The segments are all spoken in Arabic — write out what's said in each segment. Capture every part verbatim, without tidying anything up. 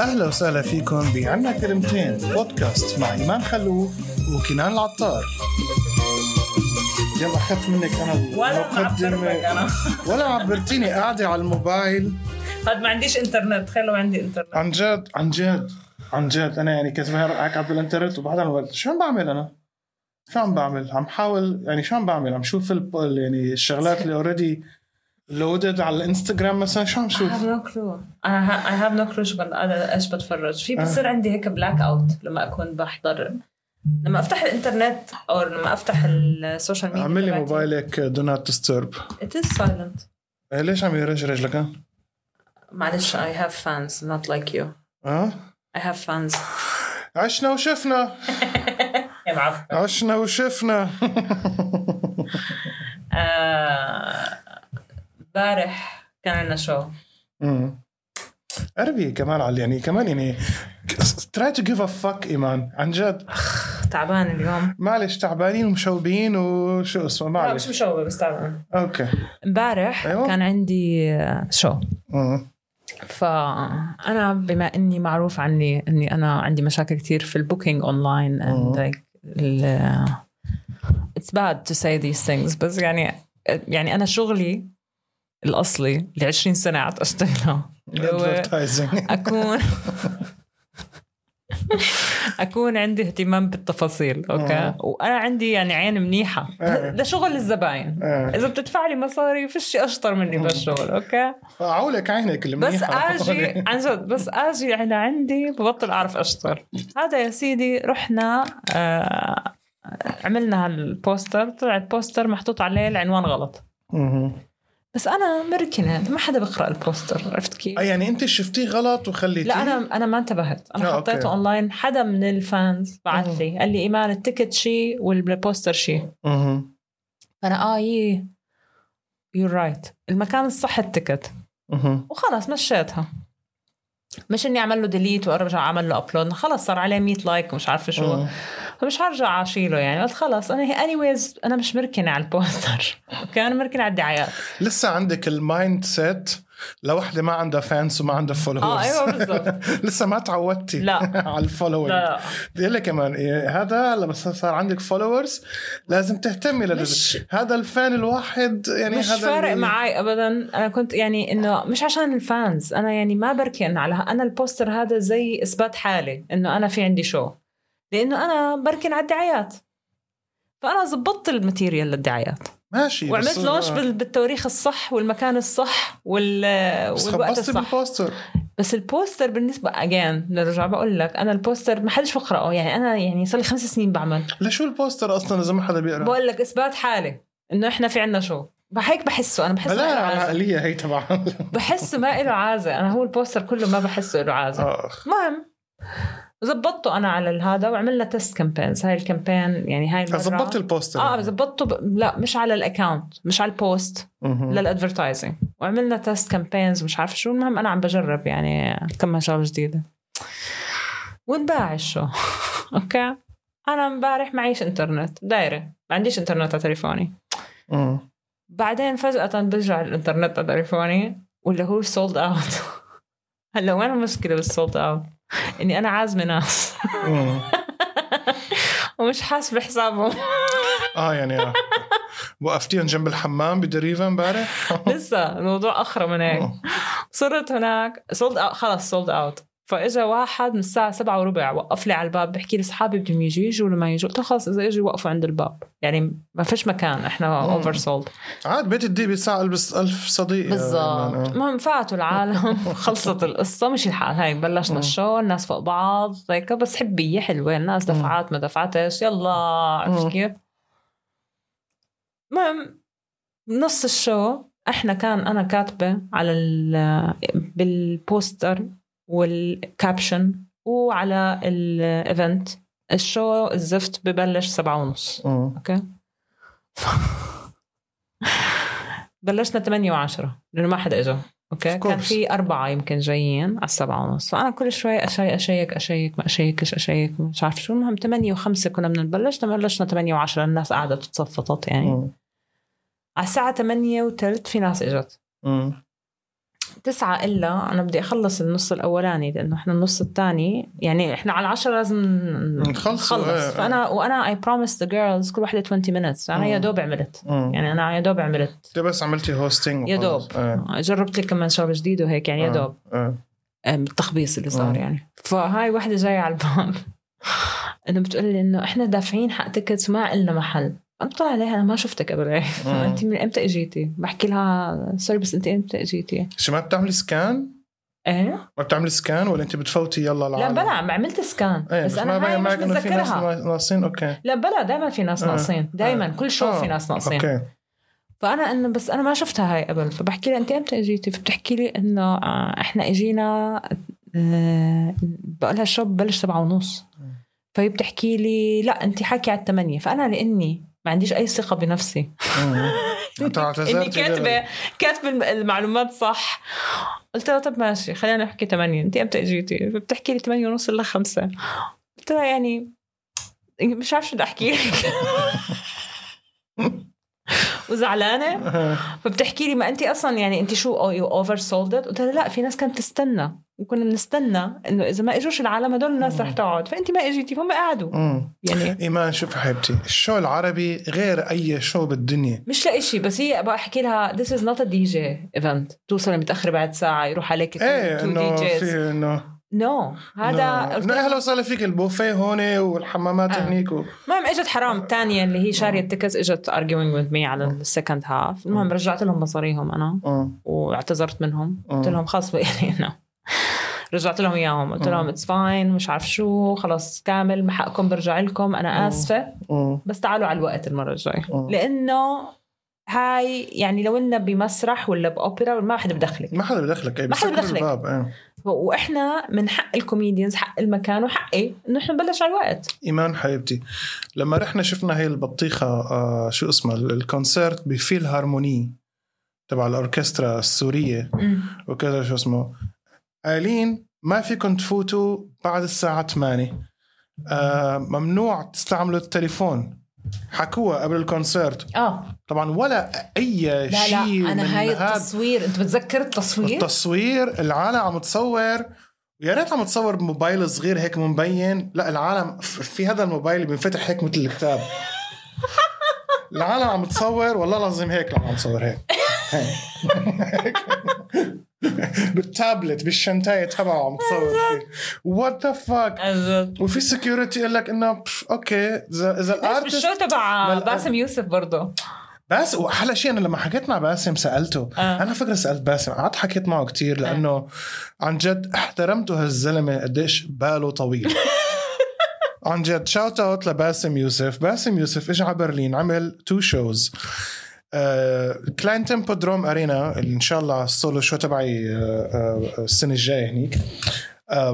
أهلا وسهلا فيكم بعنا كلمتين بودكاست مع إيمان خلوف وكنان العطار. اليوم أخذت منك أنا المقدمة أنا. ولا عبرتيني، قاعدة على الموبايل. هاد ما عنديش إنترنت، تخيلوا عندي إنترنت. عن جد عن جد عن جد أنا يعني كذا هيك على الإنترنت وبعدين الوقت شو عم بعمل أنا؟ شو عم بعمل؟ عم حاول يعني شو عم بعمل؟ عم شوف يعني الشغلات اللي أوريدي لودد على الانستغرام مثلا. شو عم شوف؟ I have no clue. I have no clue شو أنا إيش بتفرج في. بصير عندي هيك بلاك أوت لما أكون بحضر، لما أفتح الإنترنت أو لما أفتح السوشيال ميديا. عملي موبايلك do not disturb. It is silent. ليش عم يرج رجلك؟ معلش I have fans not like you. أه؟ I have fans. عشنا وشفنا. يا معفن. عشنا وشفنا. بارح كان عندنا شو. امم قربي كمان على يعني كمان يعني try to give a fuck إيمان عن جد. تعبان اليوم. معلش تعبانين ومشوبين وشو اسمه معلش. لا مش مشوبة بس تعبان. اوكي. امبارح أيوة. كان عندي شو. امم فأنا بما إني معروف عني إني أنا عندي مشاكل كتير في البوكينج أونلاين and like it's bad to say these things بس يعني يعني أنا شغلي الأصلي لعشرين سنة عاد أشتغلها أكون أكون عندي اهتمام بالتفاصيل أوكي وأنا عندي يعني عين منيحة ده شغل الزباين. إذا بتدفع لي مصاري فيش أشطر مني بالشغل أوكي أعولك عينك المنيحة بس أجي عن جد بس أجي أنا عندي ببطل أعرف أشطر. هذا يا سيدي رحنا آه عملنا هالبوستر، طلع البوستر محطوط عليه العنوان غلط. بس أنا مركنة ما حدا بقرأ البوستر، عرفت كيف؟ أي يعني أنت شفتيه غلط وخليتيه؟ لا أنا أنا ما انتبهت، أنا آه حطيته أوكي. أونلاين. حدا من الفانز بعث لي قال لي إيمان التيكت شي والبوستر شي. أه. فأنا آه يه you're right المكان الصح التيكت. أه. وخلاص مشيتها، مش إني أعمل له ديليت وأرجع أعمل له أبلود، خلاص صار عليه مية لايك ومش عارفة شو. أه. فمش هرجع أشيله يعني. قلت خلاص أنا anyways أنا مش مركنة على البوستر أوكي أنا مركنة على الدعايات. لسه عندك المايند سيت لوحدة ما عندها فانس وما عندها فولورز. آه أيوة بالضبط. لسه ما تعودتي لا على الفولورز. لا دي اللي كمان إيه هذا لما صار عندك فولورز لازم تهتمي لهذا. هذا الفان الواحد يعني مش هذا فارق اللي... معي أبدا. أنا كنت يعني إنه مش عشان الفانز، أنا يعني ما بركن على أنا البوستر هذا زي إثبات حالي إنه أنا في عندي شو، لأنه أنا بركن على الدعايات. فأنا زبطت الماتيريال للدعايات ماشي وعملت لونش بالتواريخ الصح والمكان الصح وال والوقت الصح. بالبوستر. بس البوستر بالنسبة أجان نرجع بقول لك أنا البوستر ما حدش بقرأه يعني. أنا يعني صار لي خمس سنين بعمل. لشو البوستر أصلاً إذا ما حدا بيقرأ؟ بقول لك إثبات حالي إنه إحنا في عنا شو. بحيك بحسه أنا بحسه لا عقلية هي طبعا. بحسه ما إله عازة. أنا هو البوستر كله ما بحسه إله عازة. مهم زبطته أنا على هذا وعملنا تست كامبينز. هاي الكامبين يعني هاي المرة زبطت البوستر. آه زبطته ب... لا مش على الأكاونت مش على البوست للأدفرتايزنج. وعملنا تست كامبينز مش عارف شو. المهم أنا عم بجرب يعني كم شغلة جديدة ونباع الشو. أوكي أنا مبارح معيش إنترنت دايرة، ما عنديش إنترنت على تليفوني. مم. بعدين فجأة برجع الإنترنت على تليفوني واللي هو sold out. هلا وين المشكلة بالsold out؟ إني أنا عازمة ناس ومش حاسب حسابهم. آه يعني آه. وقفتيهم جنب الحمام بدريفة امبارح؟ لسه الموضوع أخرى من هيك. صرت هناك sold out خلاص sold out. فإجا واحد من الساعة سبعة وربع وقف لي على الباب بحكي لي أصحابي بدهم يجي يجوا ولا ما يجوا. قلت خلاص إذا يجوا وقفوا عند الباب يعني ما فيش مكان إحنا over sold. عاد بيت الديبي ساعة ألبس ألف صديق بالضبط. المهم فاتوا العالم خلصت القصة مش الحال. هاي بلشنا الشو الناس فوق بعض هيك بس حبية حلوة الناس دفعات ما دفعتش يلا عرفت كيف. المهم نص الشو إحنا كان أنا كاتبة على بالبوستر والكابشن وعلى الايفنت الشو الزفت ببلش سبعة ونص. اوكي بلشنا ثمانية وعشرة لانه ما حدا اجا. اوكي كان في اربعه يمكن جايين على السبعة ونص. فانا كل شوي اشيك اشيك اشيك ما اشيكش اشيك مش عارف شو. المهم ثمانية وخمسة كنا بدنا نبلش. بلشنا ثمانية وعشرة الناس قاعده تتصفطت يعني. على الساعه ثمانية وثلث في ناس اجت. تسعة إلا أنا بدي أخلص النص الأولاني لأنه إحنا النص الثاني يعني إحنا على العشرة لازم نخلص اه. فأنا وأنا I promised the girls كل واحدة twenty minutes أنا يا دوب عملت اه. يعني أنا يا دوب عملت بس عملتي هوستينج يا دوب اه. جربت لي كمان شغل جديد وهيك يعني يا دوب اه. التخبيص اللي صار اه. يعني فهاي واحدة جاية على الباب إنه بتقول لي إنه إحنا دافعين حق تيكتس وما قلنا محل. أنا طلع عليها أنا ما شفتك قبل هيك أنت من إمتى إجيتي؟ بحكي لها سوري بس أنت إمتى إجيتي؟ شو ما بتعملي سكان؟ إيه ما بتعملي سكان ولا أنت بتفوتي يلا العالم؟ لا بلا عملت سكان ايه بس, بس أنا ما هاي مش معك إنه في ناس متذكرها. ناقصين. أوكي لا بلا دائما في ناس اه. ناقصين دائما اه. كل شو اه. في ناس ناقصين. أوكي. فأنا إنه بس أنا ما شفتها هاي قبل فبحكي لها أنت إمتى إجيتي؟ فبتحكي لي إنه إحنا إجينا أه بقولها الشو ببلش سبعة ونص فهي بتحكي لي لا أنت حكي على الثمانية فأنا لأني ما عنديش أي ثقة بنفسي إني كاتبة كاتبة المعلومات صح قلت لها طب ماشي خلينا نحكي ثمانية أنت إمتى إجيتي؟ فبتحكي لي ثمانية ونص إلا خمسة قلت لها يعني مش عارف شو بدي أحكي لك وزعلانة فبتحكي لي ما أنت أصلا يعني أنت شو you oversold it قلت لها لا في ناس كانت تستنى وكنا بنستنى إنه إذا ما إجوش العالم هدول الناس رح تقعد فأنت ما إجيتي فهم قعدوا يعني إيمان شوف حبيبتي الشو العربي غير أي شو بالدنيا مش لا إشي بس هي بقى أحكي لها this is not a دي جي event توصل متأخر بعد ساعة يروح عليك إيه إنه في إنه نو هذا إنه أهلا وسهلا فيك البوفيه هون والحمامات آه. هنيك و... المهم اجت حرام الثانيه اللي هي شاريه التكس اجت arguing with me على السكند هاف المهم رجعت لهم مصاريهم انا م. واعتذرت منهم م. قلت لهم خلاص يعني no. رجعت لهم اياهم قلت لهم اتس فاين مش عارف شو خلاص كامل ما حقكم برجع لكم انا اسفه م. بس تعالوا على الوقت المره الجايه لانه هاي يعني لو إننا بمسرح ولا بأوبرا ما حدا بدخلك ما حدا بدخلك أي ما حدا بدخلك الباب. ايه. وإحنا من حق الكوميديانز حق المكان وحقي إنه إحنا نبلش على الوقت. إيمان حبيبتي لما رحنا شفنا هاي البطيخة آه شو اسمها الكونسرت بفيل هارموني تبع الأوركسترا السورية م. وكذا شو اسمه قالين ما فيكم تفوتوا بعد الساعة ثمانية آه ممنوع تستعملوا التليفون حكوها قبل الكونسرت. اه طبعا ولا اي لا شيء لا انا هاي التصوير انت بتذكر التصوير التصوير العالم عم تصور يا ريت عم تصور بموبايل صغير هيك مبين لا العالم في هذا الموبايل بينفتح هيك مثل الكتاب العالم عم تصور والله لازم هيك عم تصور هيك بالتابلت بالشنطاية تبعه عم تصور فيه what the fuck وفي سكيورتي يقول لك انه اوكي اذا اذا الارتست بالشو تبع باسم يوسف برضه بس وأحلى شيء أنا لما حكيت مع باسم سألته آه. أنا فكرة سألت باسم قعدت حكيت معه كتير لأنه آه. عن جد احترمته هالزلمة قديش باله طويل عن جد شاوت اوت لباسم يوسف. باسم يوسف إجا على برلين عمل تو شوز كلاين تيمبو دروم أرينا اللي إن شاء الله السولو شو تبعي uh, uh, السنة الجاية هنيك. um,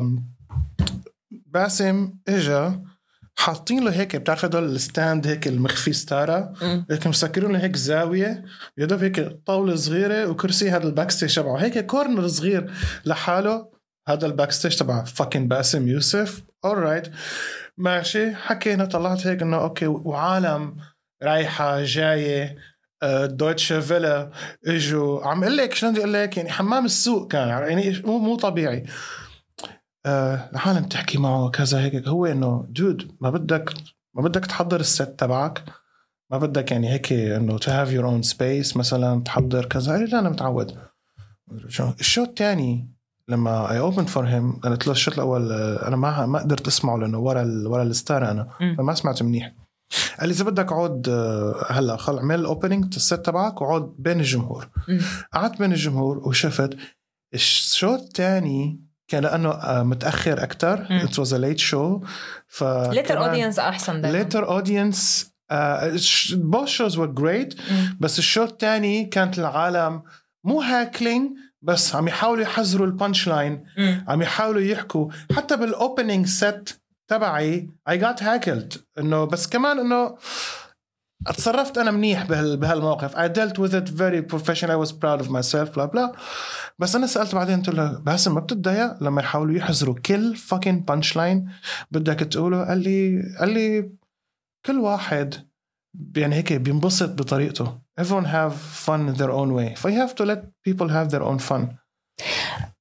باسم إجا حاطين له هيك بتعرف هدول الستاند هيك المخفي ستارة هيك مسكرين له هيك زاوية يدوب هيك طاولة صغيرة وكرسي هذا الباك ستيج تبعه هيك كورنر صغير لحاله هذا الباك ستيج تبع فاكين باسم يوسف. alright ماشي حكينا طلعت هيك انه اوكي وعالم رايحة جاية دويتشه فيلا اجوا عم اقول لك شلون بدي اقول لك يعني حمام السوق كان يعني مو مو طبيعي. أه العالم تحكي معه كذا هيك هو انه دود ما بدك ما بدك تحضر الست تبعك ما بدك يعني هيك انه to have your own space مثلا تحضر كذا. لا انا متعود. الشو الثاني لما I opened for him قلت له الشوط الاول انا ما ما قدرت اسمعه لانه ورا ال ورا الستار انا فما سمعت منيح. قال لي إذا بدك عود هلا خل اعمل اوبننج الست تبعك وعود بين الجمهور. قعدت بين الجمهور وشفت الشوط الثاني كان لأنه متأخر أكتر it was a late show ف later audience أحسن دايما. later audience uh, both shows were great مم. بس الشو الثاني كانت العالم مو هاكلينج بس عم يحاولوا يحذروا البانش لاين عم يحاولوا يحكوا حتى بالopening set تبعي I got hackled إنه بس كمان إنه اتصرفت أنا منيح بهالموقف I dealt with it very professional I was proud of myself blah blah. بس أنا سألت بعدين قلت له باسم ما بتتضايق لما يحاولوا يحذروا كل fucking punchline بدك تقوله؟ قال لي قال لي كل واحد يعني هيك بينبسط بطريقته everyone have fun their own way so you have to let people have their own fun.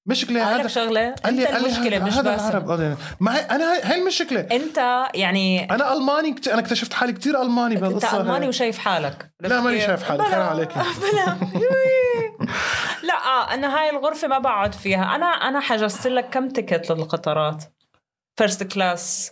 مشكلة هذا شغلة انت المشكلة مش هذا باسم. العرب. ما هي انا هاي المشكلة. انت يعني انا الماني كت... انا اكتشفت حالي كتير الماني بهالقصة. انت الماني وشايف حالك. لا ماني شايف حالي خير عليك. لا انا هاي الغرفة ما بقعد فيها. انا انا حجزت لك كم تيكت للقطارات فيرست كلاس؟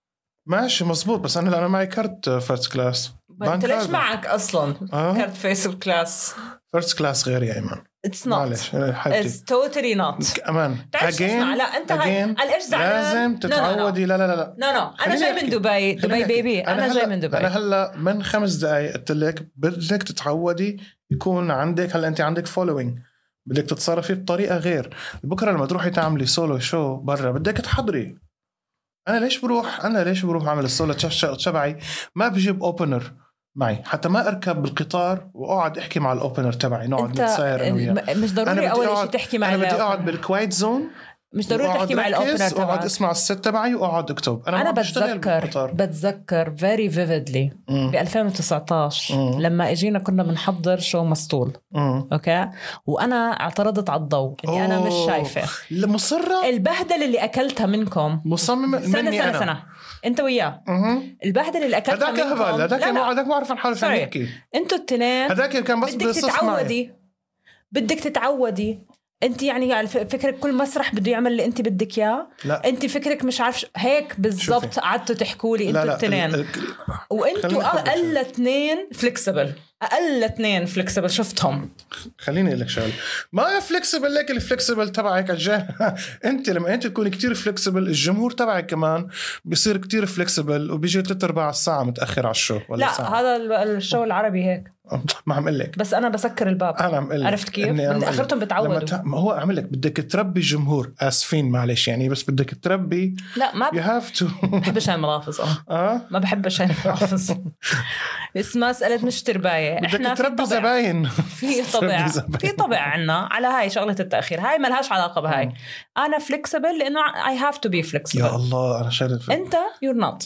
ماشي مزبوط، بس انا انا معي كارت فيرست كلاس. انت ليش معك اصلا آه؟ كارت فيرست كلاس؟ فيرست كلاس غير يا ايمان. It's not. معلش It's totally not. كمان. Again. لا أنت هاي الإيش زعلان؟ لازم تتعودي. لا لا لا لا. لا لا. أنا جاي من دبي. دبي بيبي. أنا, أنا جاي من دبي. أنا هلا من خمس دقايق قلت لك بدك تتعودي يكون عندك. هلا أنت عندك following، بدك تتصرفي بطريقة غير. بكرة لما تروحي تعملي سولو شو برا بدك تحضري. أنا ليش بروح أنا ليش بروح أعمل السولو تبعي؟ ما بجيب أوبنر معي حتى ما أركب بالقطار وأقعد أحكي مع الأوبنر تبعي نقعد نتساير أنا وياه. مش ضروري أول شيء تحكي مع. أنا بدي أقعد بالكوايت زون. مش ضروري تحكي مع الأوبنر تبعي. وأقعد أسمع الست تبعي وأقعد أكتب. أنا, أنا بتذكر بتذكر very vividly ب ألفين وتسعطعش مم. لما إجينا كنا بنحضر شو مسطول. مم. أوكي وأنا اعترضت على الضوء إني أنا مش شايفة. مصرة البهدلة اللي أكلتها منكم مصممة سنة مني سنة أنا. سنة انت وياه. البهدله اللي اكلتها هذاك هبل. هذاك ما هذاك ما اعرف عن حاله شو يحكي. انتوا الاثنين هذاك كان بس بدك تتعودي. بدك تتعودي انت يعني على فكرك كل مسرح بده يعمل اللي انت بدك اياه. انت فكرك مش عارف هيك بالضبط. قعدتوا تحكوا لي انتوا الاثنين وانتوا اقل اثنين فليكسبل. اقل اثنين فليكسبل شفتهم. خليني اقول لك شغله ما فليكسبل لك. الفليكسبل تبعك الجهل. انت لما انت تكون كتير فليكسبل الجمهور تبعك كمان بيصير كتير فليكسبل وبيجي ثلاث ارباع الساعه متاخر على الشو ولا لا ساعة. هذا الشو العربي هيك ما عم اقول لك بس انا بسكر الباب. انا عم اقول لك عرفت كيف من اخرتهم بتعودوا. ت... هو عمل لك بدك تربي جمهور. اسفين معلش يعني بس بدك تربي. لا ما ب... you have to. ما بحبش هالملافظ. اه ما بحبش هالملافظ. اسمها مسألة مش ترباية. احنا تربي زباين. في طبع في طبع عنا على هاي شغلة التأخير. هاي ما لهاش علاقة بهاي. أنا flexible لأنه I have to be flexible. يا الله أنا شايف. أنت you're not.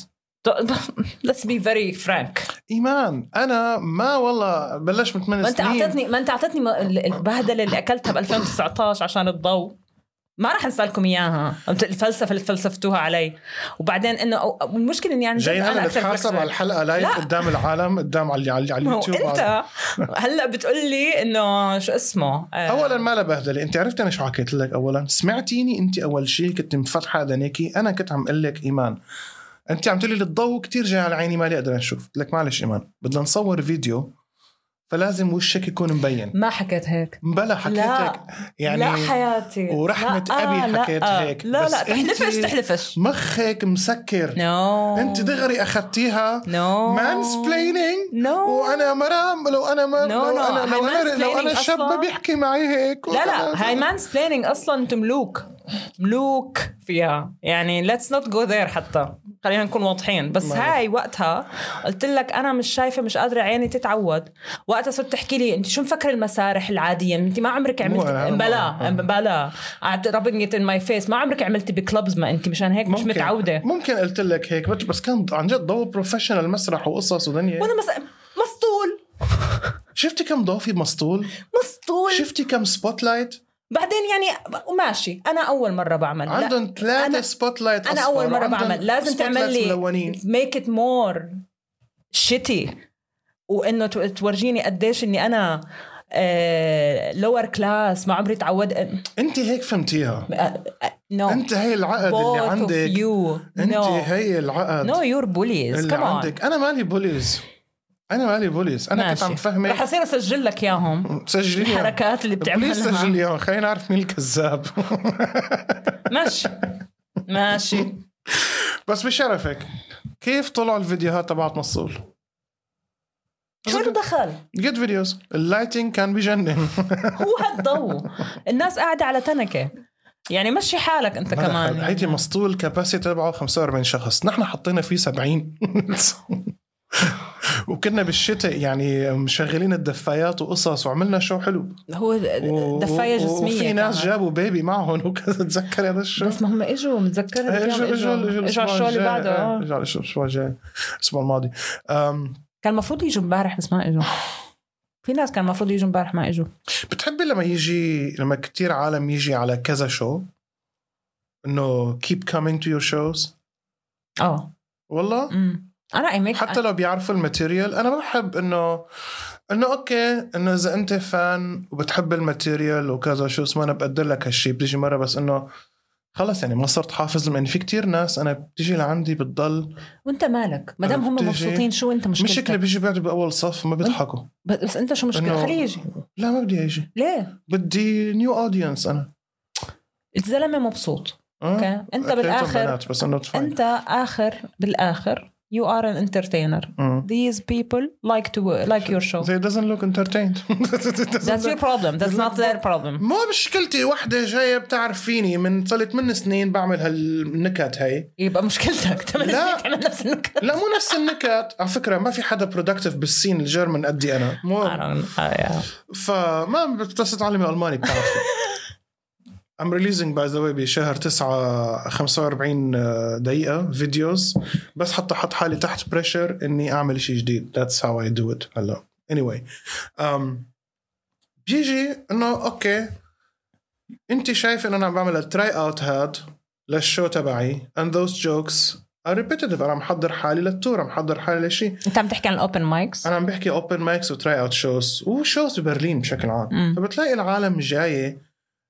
Let's be very frank. إيمان أنا ما والله بلش من ثمان سنين. ما أنت أعطتني ما أنت أعطتني البهدلة اللي أكلتها ب ألفين وتسعطعش عشان الضوء. ما راح نسألكم إياها. الفلسفة اللي تفلسفتوها علي. وبعدين إنه المشكلة إني يعني جاي هلا نتحاسب على الحلقة لايف قدام العالم قدام على على اليوتيوب. أنت هلا بتقولي إنه شو اسمه. أولا ما له بهدلة. أنت عرفت أنا شو حكيت لك؟ أولا سمعتيني أنت أول شيء كنت مفتحة دنيكي. أنا كنت عم أقول لك إيمان أنت عم تقولي الضوء كتير جاي على عيني ما لي أقدر أشوف. لك معلش إيمان بدنا نصور فيديو فلازم وشك يكون مبين. ما حكيت هيك. بلا حكيت لا. هيك يعني. لا حياتي ورحمة لا. أبي آه حكيت لا. هيك. لا لا تحلفش تحلفش. مخك مسكر. no. أنت دغري أخذتيها no. mansplaining. no. وأنا مرام لو أنا ما no, لو no. أنا لو أنا لو أنا شاب بيحكي معي هيك. لا لا هاي mansplaining أصلاً تملوك ملوك فيها يعني let's not go there. حتى خلينا نكون واضحين. بس هاي وقتها قلت لك أنا مش شايفة مش قادرة عيني تتعود. وقتها صرت تحكي لي أنت شو مفكر المسارح العادية؟ أنت ما عمرك عملت بلا بلا rubbing it in my face. ما عمرك عملتي بكلبز ما أنت مشان هيك مش ممكن. متعودة. ممكن قلت لك هيك بس كان عن جد ضوء بروفيشنال مسرح وقصص ودنيا. وأنا مس... مسطول. شفتي كم ضوء في مسطول؟ مسطول. شفتي كم سبوت لايت؟ بعدين يعني وماشي. أنا أول مرة بعمل. عندهم ثلاثة سبوت لايت. أنا أول مرة بعمل. لازم تعمل لي make it more shitty وإنه تورجيني قديش إني أنا lower class ما عمري تعود. أنت هيك فهمتيها. no. أنت هي العقد Both اللي عندك. أنت no. هي العقد. no you're bullies. اللي عندك. أنا مالي بوليز. أنا مالي بوليس. أنا كنت عم فهمك. رح أصير أسجل لك ياهم. سجلي الحركات اللي بتعملها. بوليس سجل ياهم. خلينا نعرف مين الكذاب. ماشي ماشي. بس بشرفك كيف طلعوا الفيديوهات تبعت مسطول؟ شو له دخل؟ جد فيديوز. اللايتنج كان بيجنن. هو هالضوء الناس قاعدة على تنكة يعني مشي حالك أنت كمان. هيدي مسطول كاباسيتي تبعه خمسة وأربعين شخص. نحن حطينا فيه سبعين. وكنا بالشتاء يعني مشغلين الدفايات وقصص وعملنا شو حلو. هو دفاية جسمية. وفي ناس جابوا بيبي معهم وكذا. تذكر هذا الشو. بس ما هم اجوا متذكر اجوا اجوا اجوا على الشو اللي بعده. اجوا على الشو الجاي الاسبوع الماضي. كان المفروض يجوا امبارح بس ما اجوا. في ناس كان المفروض يجوا امبارح ما اجوا. بتحبي لما يجي لما كتير عالم يجي على كذا شو انه keep coming to your shows؟ اه والله امم انا I make حتى لو بيعرفوا الماتيريال. انا بحب انه انه اوكي انه اذا انت فان وبتحب الماتيريال وكذا شو اسمه انا بقدر لك هالشي، بتيجي مره بس انه خلص يعني ما صرت حافظ لهم. يعني في كتير ناس انا بتيجي لعندي بتضل وانت مالك ما دام هم مبسوطين شو انت مشكلتك؟ مشكله بيجي بيقعدوا باول صف ما بيضحكوا. بس انت شو مشكلة؟ خليه يجي. لا ما بدي يجي. ليه؟ بدي نيو اودينس. انا الزلمه مبسوط. أه؟ اوكي انت بالاخر بس انت اخر بالاخر you are an entertainer. mm. These people like to like your show. They doesn't look entertained. That's your problem. That's not their problem. مو مشكلتي وحدة جاية بتعرف فيني من صلت من سنين بعمل هالنكات هاي. يبقى مشكلتك ثمان سنين تعمل نفس النكات. لا مو نفس النكات على فكرة. ما في حدا productive بالسين الجيرمن قدي أنا. مو فما بتتعلمي ألماني بتعرفي. I'm releasing by the way بشهر تسعة خمسة وأربعين دقيقة فيديوز بس حتى حط حالي تحت بريشر إني أعمل شيء جديد. That's how I do it هلا. Anyway um, بيجي إنه أوكي أنت شايف إنه أنا بعمل التراي أوت هاد للشو تبعي and those jokes are repetitive. أنا محضر حالي للتور، محضر حالي لشيء. أنت عم تحكي عن الأوبن مايكس؟ أنا عم بحكي أوبن مايكس وتراي أوت شوز وشوز ببرلين بشكل عام. م. فبتلاقي العالم جاية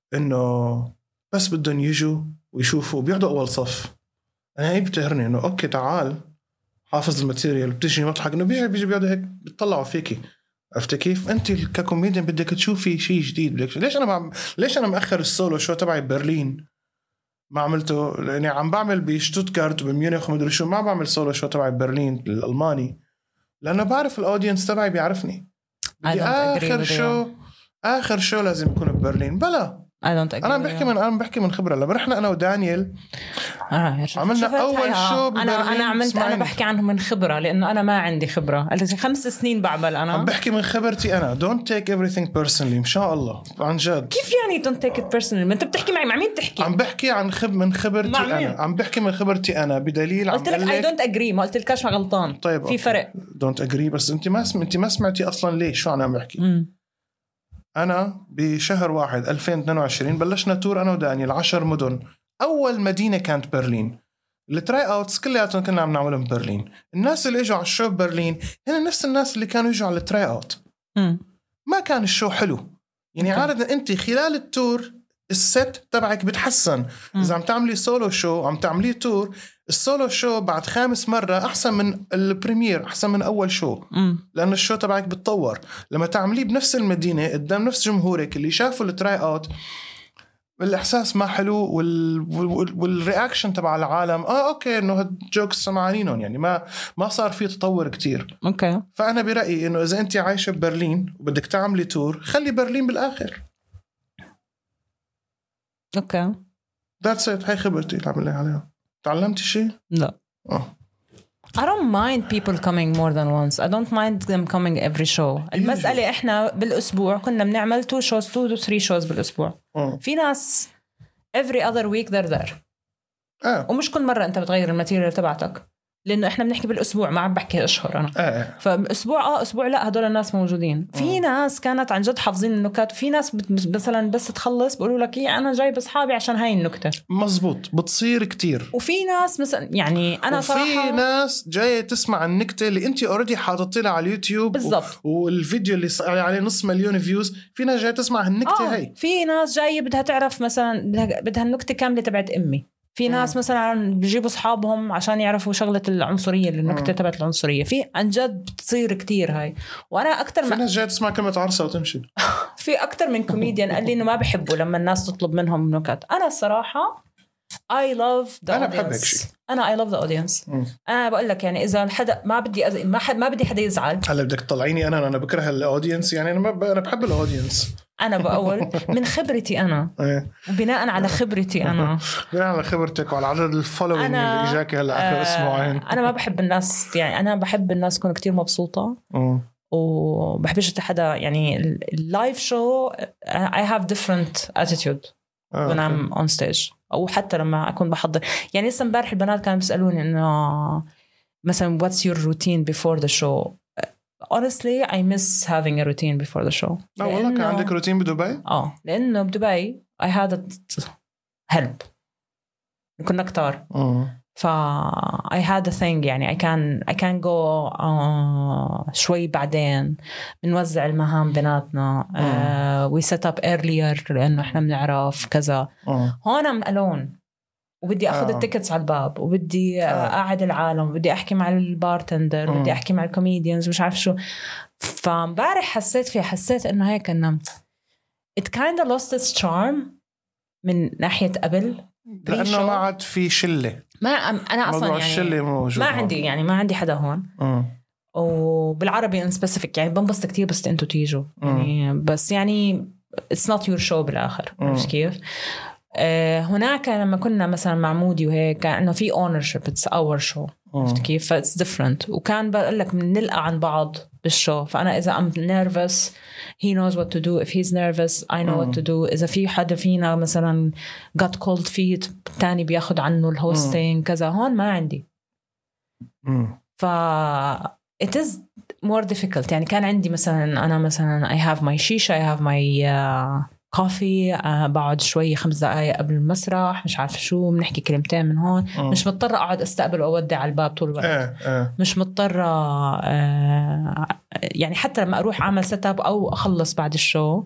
إنه بس بدهم يجوا ويشوفوا بيقعدوا أول صف. أنا هي بتهرني إنه أوكي تعال حافظ الماتيريال بتيجي مضحك إنه بيجي بيجي بيقعدوا هيك بيطلعوا فيكي. عرفت كيف؟ أنت ككوميديان بدك تشوفي شيء جديد. بدك ليش أنا بعم... ليش أنا مأخر السولو شو تبعي برلين ما عملته؟ لأني عم بعمل بشتوتغارت وبميونخ ومدري شو. ما بعمل سولو شو تبعي برلين الألماني لأنه بعرف الأودينس تبعي بيعرفني. بدي آخر شو آخر شو لازم يكون ببرلين. بلا أنا بحكي من أنا بحكي من خبرة. لما رحنا أنا ودانيال آه عملنا أول شو أنا أنا عملت أنا بحكي عنه من خبرة لأنه أنا ما عندي خبرة. التي خمس سنين بعمل أنا. عم بحكي من خبرتي أنا. Don't take everything personally. إن شاء الله عن جد. كيف يعني don't take it personally؟ ما أنت بتحكي معي مع مين تحكي؟ عم بحكي عن خب من خبرتي أنا. عم بحكي من خبرتي أنا بدليل عم قلت لك I don't agree. ما قلت لكش ما غلطان. طيب في فرق. don't agree بس أنت ما سم... أنت ما سمعتي أصلا ليش شو أنا عم بحكي. م. أنا بشهر واحد ألفين واثنين وعشرين بلشنا تور أنا ودانيال عشر مدن. أول مدينة كانت برلين. التراي أوتس كلياتهم كنا عم نعملهم برلين. الناس اللي إجوا على الشو برلين هنا نفس الناس اللي كانوا يجوا على التراي أوت. ما كان الشو حلو يعني عادة أنت خلال التور الست تبعك بتحسن. إذا عم تعملي سولو شو عم تعملي تور السولو شو بعد خامس مرة أحسن من البريمير أحسن من أول شو م. لأن الشو تبعك بتطور. لما تعمليه بنفس المدينة قدام نفس جمهورك اللي شافوا التراي أوت الإحساس ما حلو وال... وال... والرياكشن تبع العالم آه أوكي إنه هالجوكس سمعانينهم يعني ما ما صار فيه تطور كتير. أوكي. فأنا برأيي إنه إذا أنت عايشة ببرلين وبدك تعملي تور خلي برلين بالآخر. أوكي. That's it. هاي خبرتي اللي عملي عليها. تعلمتي شيء؟ لا. آه. I don't mind people coming more than once. I don't mind them coming every show. المسألة إحنا بالأسبوع كنا بنعمل two shows two to three shows بالأسبوع. أوه. في ناس every other week they're there. آه. ومش كل مرة أنت بتغير الماتيريال تبعتك لأنه إحنا بنحكي بالأسبوع ما عم بحكي أشهر أنا. آه. فأسبوع آه أسبوع لا هدول الناس موجودين. في أوه. ناس كانت عن جد حافظين النكات. في ناس مثلا بس تخلص بيقولوا لك إيه أنا جايب أصحابي عشان هاي النكتة. مزبوط بتصير كتير. وفي ناس مثلا يعني أنا وفي صراحة في ناس جاية تسمع النكتة اللي أنت أوريدي حاططينها على اليوتيوب بالضبط. و... والفيديو اللي صار عليه نص مليون فيوز في ناس جاية تسمع النكتة آه. هاي. في ناس جاية بدها تعرف مثلا بدها, بدها النكتة كاملة تبعت أمي. في ناس مثلا بيجيبوا أصحابهم عشان يعرفوا شغلة العنصرية النكتة تبعت العنصرية. في عن جد بتصير كتير هاي. وأنا أكتر في ناس جاية تسمع كلمة عرسة وتمشي. في أكتر من كوميديان قال لي إنه ما بحبوا لما الناس تطلب منهم نكت. أنا الصراحة I love the أنا audience. بحب هيك شيء. أنا I love the audience. م. أنا بقول لك يعني إذا حدا ما بدي أز... ما حد ما بدي حدا يزعل. هلا بدك تطلعيني أنا أنا بكره الأودينس يعني أنا ما ب... أنا بحب الأودينس. أنا بقول من خبرتي أنا وبناء على خبرتي أنا بناء على خبرتك وعلى عدد الفولوينج اللي جاك هلا آخر أسبوعين. أنا ما بحب الناس يعني أنا بحب الناس تكون كتير مبسوطة وبحبش حدا يعني اللايف شو I have different attitude آه when I'm on stage أو حتى لما أكون بحضر. يعني لسه امبارح البنات كانوا بيسألوني إنه مثلا what's your routine before the show. honestly I miss having a routine before the show. اه والله كان عندك روتين بدبي؟ اه لأنه بدبي I had help كنا كتار ف I had a thing يعني I can I can go uh, شوي بعدين بنوزع المهام بيناتنا uh, we set up earlier لأنه إحنا بنعرف كذا. هون I'm alone وبدي أخذ التيكتس على الباب وبدي أقعد العالم وبدي أحكي مع البارتندر وبدي أحكي مع الكوميديانز مش عارف شو. فمبارح حسيت فيه حسيت إنه هيك إنه it kind of lost its charm من ناحية قبل لأنه ما عاد في شلة. ما أنا أصلاً يعني ما عندي يعني ما عندي حدا هون م. وبالعربي in specific يعني بنبسط كتير بس أنتوا تيجوا يعني بس يعني it's not your show بالآخر عرفت كيف. آه هناك لما كنا مثلا مع مودي وهيك كان إنه في ownership it's our show عرفت كيف ف it's different. وكان بقول لك بنلقى عن بعض بالشو. فأنا إذا I'm nervous he knows what to do if he's nervous I know what to do. إذا في حدا فينا مثلا got cold feet تاني بياخد عنه الهوستين كذا. هون ما عندي ف it is more difficult. يعني كان عندي مثلا أنا مثلا I have my shisha I have my uh, coffee uh, بعد شوي خمس دقايق قبل المسرح مش عارف شو بنحكي كلمتين من هون م. مش مضطرة أقعد أستقبل وأودع على الباب طول الوقت اه اه. مش مضطرة uh, يعني حتى لما أروح أعمل سيت اب أو أخلص بعد الشو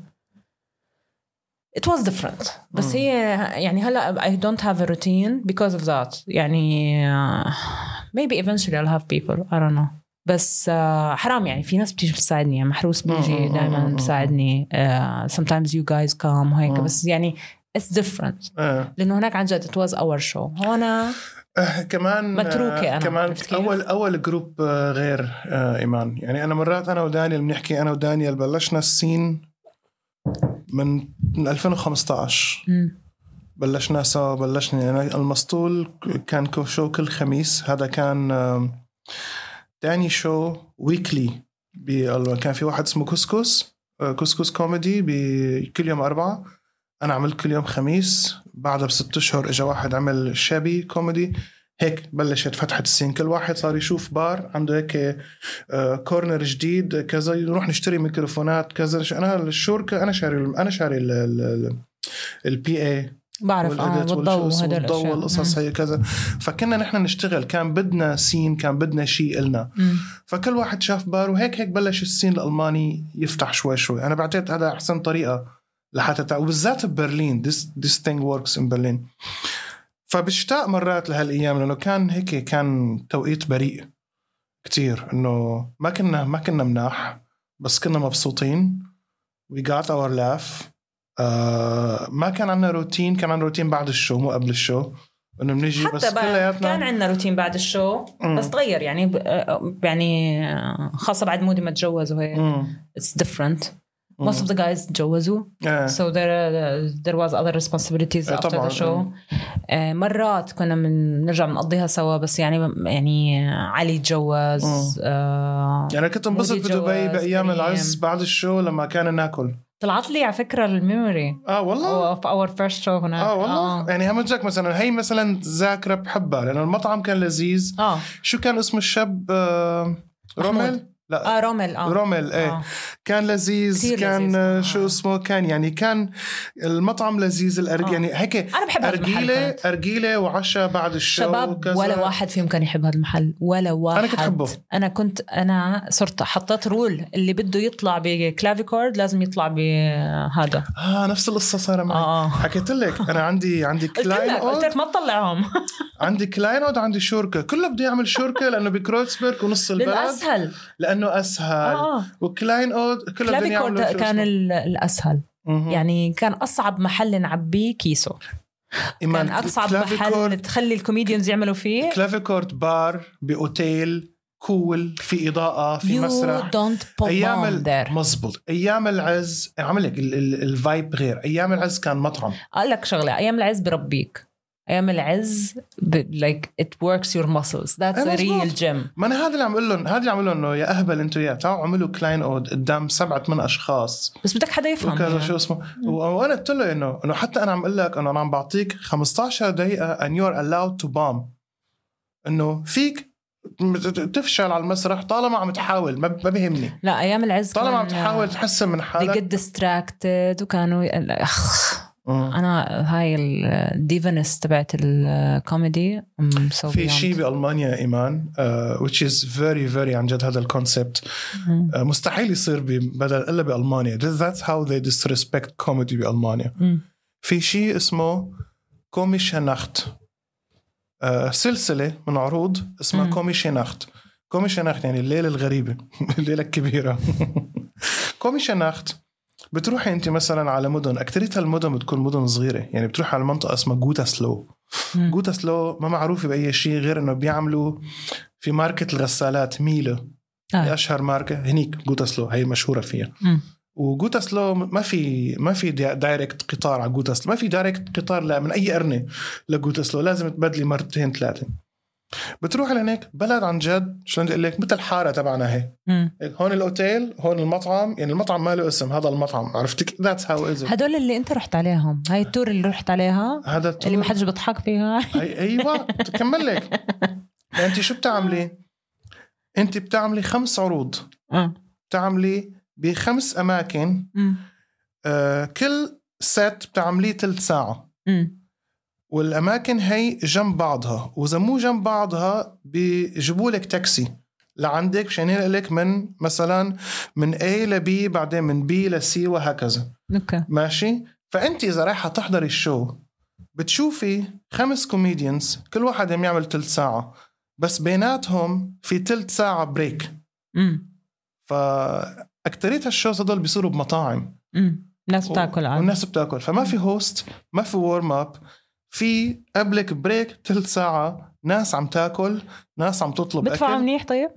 it was different. بس م. هي يعني هلا I don't have a routine because of that. يعني uh, maybe eventually I'll have people I don't know. بس uh, حرام يعني في ناس بتيجي بتساعدني يعني محروس بيجي دائما بتساعدني uh, sometimes you guys come وهيك بس يعني it's different لأنه هناك عن جد it was our show. هنا آه كمان متروكة أنا كمان أول أول جروب آه غير آه إيمان. يعني أنا مرات أنا ودانيال بنحكي أنا ودانيال بلشنا السين من من ألفين وخمسطعش م. بلشنا سوا بلشنا يعني المسطول كان شو كل خميس. هذا كان آه تاني شو ويكلي كان في واحد اسمه كسكس كسكس كوميدي بكل يوم أربعة. أنا عملت كل يوم خميس. بعدها بست أشهر إجا واحد عمل شابي كوميدي. هيك بلشت فتحة السين. كل واحد صار يشوف بار عنده هيك كورنر جديد كذا نروح نشتري ميكروفونات كذا. أنا الشركة أنا شاري أنا شاري البي اي بعرف اه والضوء هذا الضوء والقصص هي كذا. فكنا نحن نشتغل كان بدنا سين كان بدنا شيء إلنا. فكل واحد شاف بار وهيك هيك بلش السين الألماني يفتح شوي شوي. أنا بعتقد هذا أحسن طريقة لحتى تع... وبالذات ببرلين this, this thing works in Berlin. فبشتاق مرات لهالأيام لأنه كان هيك كان توقيت بريء كتير إنه ما كنا ما كنا مناح بس كنا مبسوطين we got our laugh. آه ما كان عندنا روتين. كان عندنا روتين بعد الشو مو قبل الشو انه بنيجي بس كلياتنا كان عندنا روتين بعد الشو م. بس تغير يعني يعني خاصة بعد مودي ما تجوز وهي it's different م. most of the guys تجوزوا yeah. so there uh, there was other responsibilities after طبعاً. the show آه مرات كنا من نرجع بنقضيها سوا بس يعني يعني علي تجوز آه يعني كنت انبسط بدبي بأيام العز بعد الشو لما كان ناكل. طلعت لي على فكرة الميموري اه والله في اور فيرست شو هناك اه والله آه. يعني هم جاك مثلا هي مثلا ذاكرة بحبها لأن المطعم كان لذيذ. اه شو كان اسم الشاب آه رومل لا اه رومل اه رومل ايه آه. كان لذيذ كان لذيذ. شو اسمه كان يعني كان المطعم لذيذ الأرج آه. يعني هيك أنا بحب أرجيلة أرجيلة وعشاء بعد الشو شباب وكذا. ولا واحد فيهم كان يحب هذا المحل ولا واحد. أنا كنت أحبه. أنا كنت أنا صرت حطيت رول اللي بده يطلع بكلافيكورد لازم يطلع بهذا آه نفس القصة صار معي آه. حكيت لك أنا عندي عندي كلاين أود قلت لك ما تطلعهم عندي كلاين أود عندي شركة كله بده يعمل شركة لأنه بكروتسبرغ ونص البلد أسهل لأنه أسهل آه. وكلاين أود كله بده يعمل كان الأسهل م-م. يعني كان أصعب محل نعبيه كيسو كان أصعب محل تخلي الكوميديانز يعملوا فيه كلافيكورد بار بأوتيل كول في إضاءة في you مسرح أيام مزبوط. أيام العز عمل لك الفايب غير. أيام العز كان مطعم. أقول لك شغلة أيام العز بربيك. أيام العز like it works your muscles that's a real gym. ما أنا هذا اللي عم أقول لهم هذا اللي عم أقول لهم إنه يا أهبل أنتوا يا تعالوا عملوا كلاين أود قدام سبعة من أشخاص بس بدك حدا يفهم وكذا يعني. شو اسمه وأنا قلت له إنه إنه حتى أنا عم أقول لك إنه أنا عم بعطيك خمسة عشر دقيقة and you're allowed to bomb. إنه فيك تفشل على المسرح طالما عم تحاول ما بيهمني. لا ايام العز طالما عم تحاول تحسن من حالك. they get distracted وكانوا اخ انا هاي الديفنس تبعت الكوميدي في شيء بألمانيا إيمان uh, which is very very عن جد هذا الكونسبت uh, مستحيل يصير بدل إلا بألمانيا. that's how they disrespect comedy بألمانيا. م. في شيء اسمه كوميشة ناخت uh, سلسلة من عروض اسمها كوميشة ناخت. كوميشة ناخت يعني الليلة الغريبة الليلة الكبيرة. كوميشة ناخت بتروحي انت مثلا على مدن اكتريتها المدن بتكون مدن صغيره يعني بتروح على منطقه اسمها جوتاسلو. جوتاسلو ما معروفه باي شيء غير انه بيعملوا في ماركه الغسالات ميلو آه. اشهر ماركه هنيك جوتاسلو هي مشهوره فيها. وجوتاسلو ما في ما في دايركت قطار على جوتاسلو. ما في دايركت قطار لا من اي قرنه لجوتاسلو لازم تبدلي مرتين ثلاثه. بتروح لهناك بلد عن جد شلون بدي اقول لك مثل الحاره تبعنا هي. هون الاوتيل هون المطعم يعني المطعم ما له اسم هذا المطعم عرفتك ذاتس هاو از. هدول اللي انت رحت عليهم هاي التور اللي رحت عليها هذا اللي ما حدش بيضحك فيها. ايوه تكمل لك. انت شو بتعملي؟ انت بتعملي خمس عروض اه بتعملي بخمس اماكن آه كل سيت بتعمليه ثلث ساعه م. والأماكن هي جنب بعضها وإذا مو جنب بعضها بيجيبوا لك تاكسي لعندك عشان ينقلك من مثلا من A ل B بعدين من B ل C وهكذا. أوكي. ماشي. فأنت إذا رايحة تحضري الشو بتشوفي خمس كوميديانز كل واحد عم يعمل تلت ساعة بس بيناتهم في تلت ساعة بريك. امم فأكتريت هالشوز هدول بيصيروا بمطاعم. امم الناس بتاكل عادي. والناس بتاكل فما في هوست ما في وورم اب في قبلك بريك تلت ساعة ناس عم تاكل ناس عم تطلب أكل. بدفعوا منيح طيب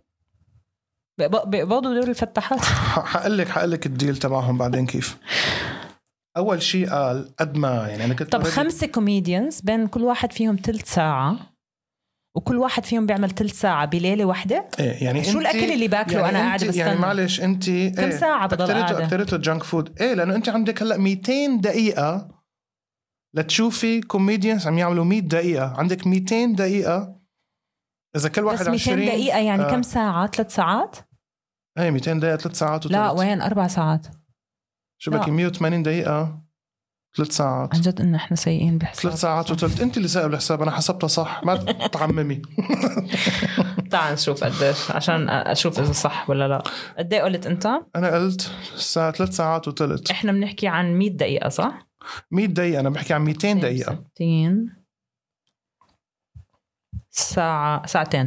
بيقبضوا دور الفتحات. حقلك حقلك الديل تبعهم بعدين كيف. أول شيء قال قد ما يعني أنا كنت طب خمسة كوميديانز بين كل واحد فيهم تلت ساعة وكل واحد فيهم بيعمل تلت ساعة بليلة واحدة. إيه يعني شو الأكل اللي باكله يعني أنا قاعدة بستنى يعني معلش أنت كم إيه ساعة بضل قاعدة أكتريته جانك فود. إيه لأنه أنت عندك هلأ ميتين دقيقة لتشوفي كوميديانز عم يعملوا مية دقيقة عندك ميتين دقيقة إذا كل واحد عشرين ميتين دقيقة يعني آه. كم ساعة ثلاث ساعات ايه ميتين دقيقة ثلاث ساعات وثلاث. لا وين أربع ساعات شو بكي مية وثمانين دقيقة ثلاث ساعات. عن جد إن إحنا سيئين بحساب ثلاث ساعات وثلث. أنت اللي سائل الحساب أنا حسبتها صح ما تعممي. تعال نشوف قديش عشان أشوف إذا صح ولا لا. قديه قلت أنت؟ أنا قلت ساعة ثلاث ساعات وثلث. إحنا بنحكي عن مية دقيقة صح؟ مية دقيقة أنا بحكي عن ميتين دقيقة. ستين ساعة ساعتين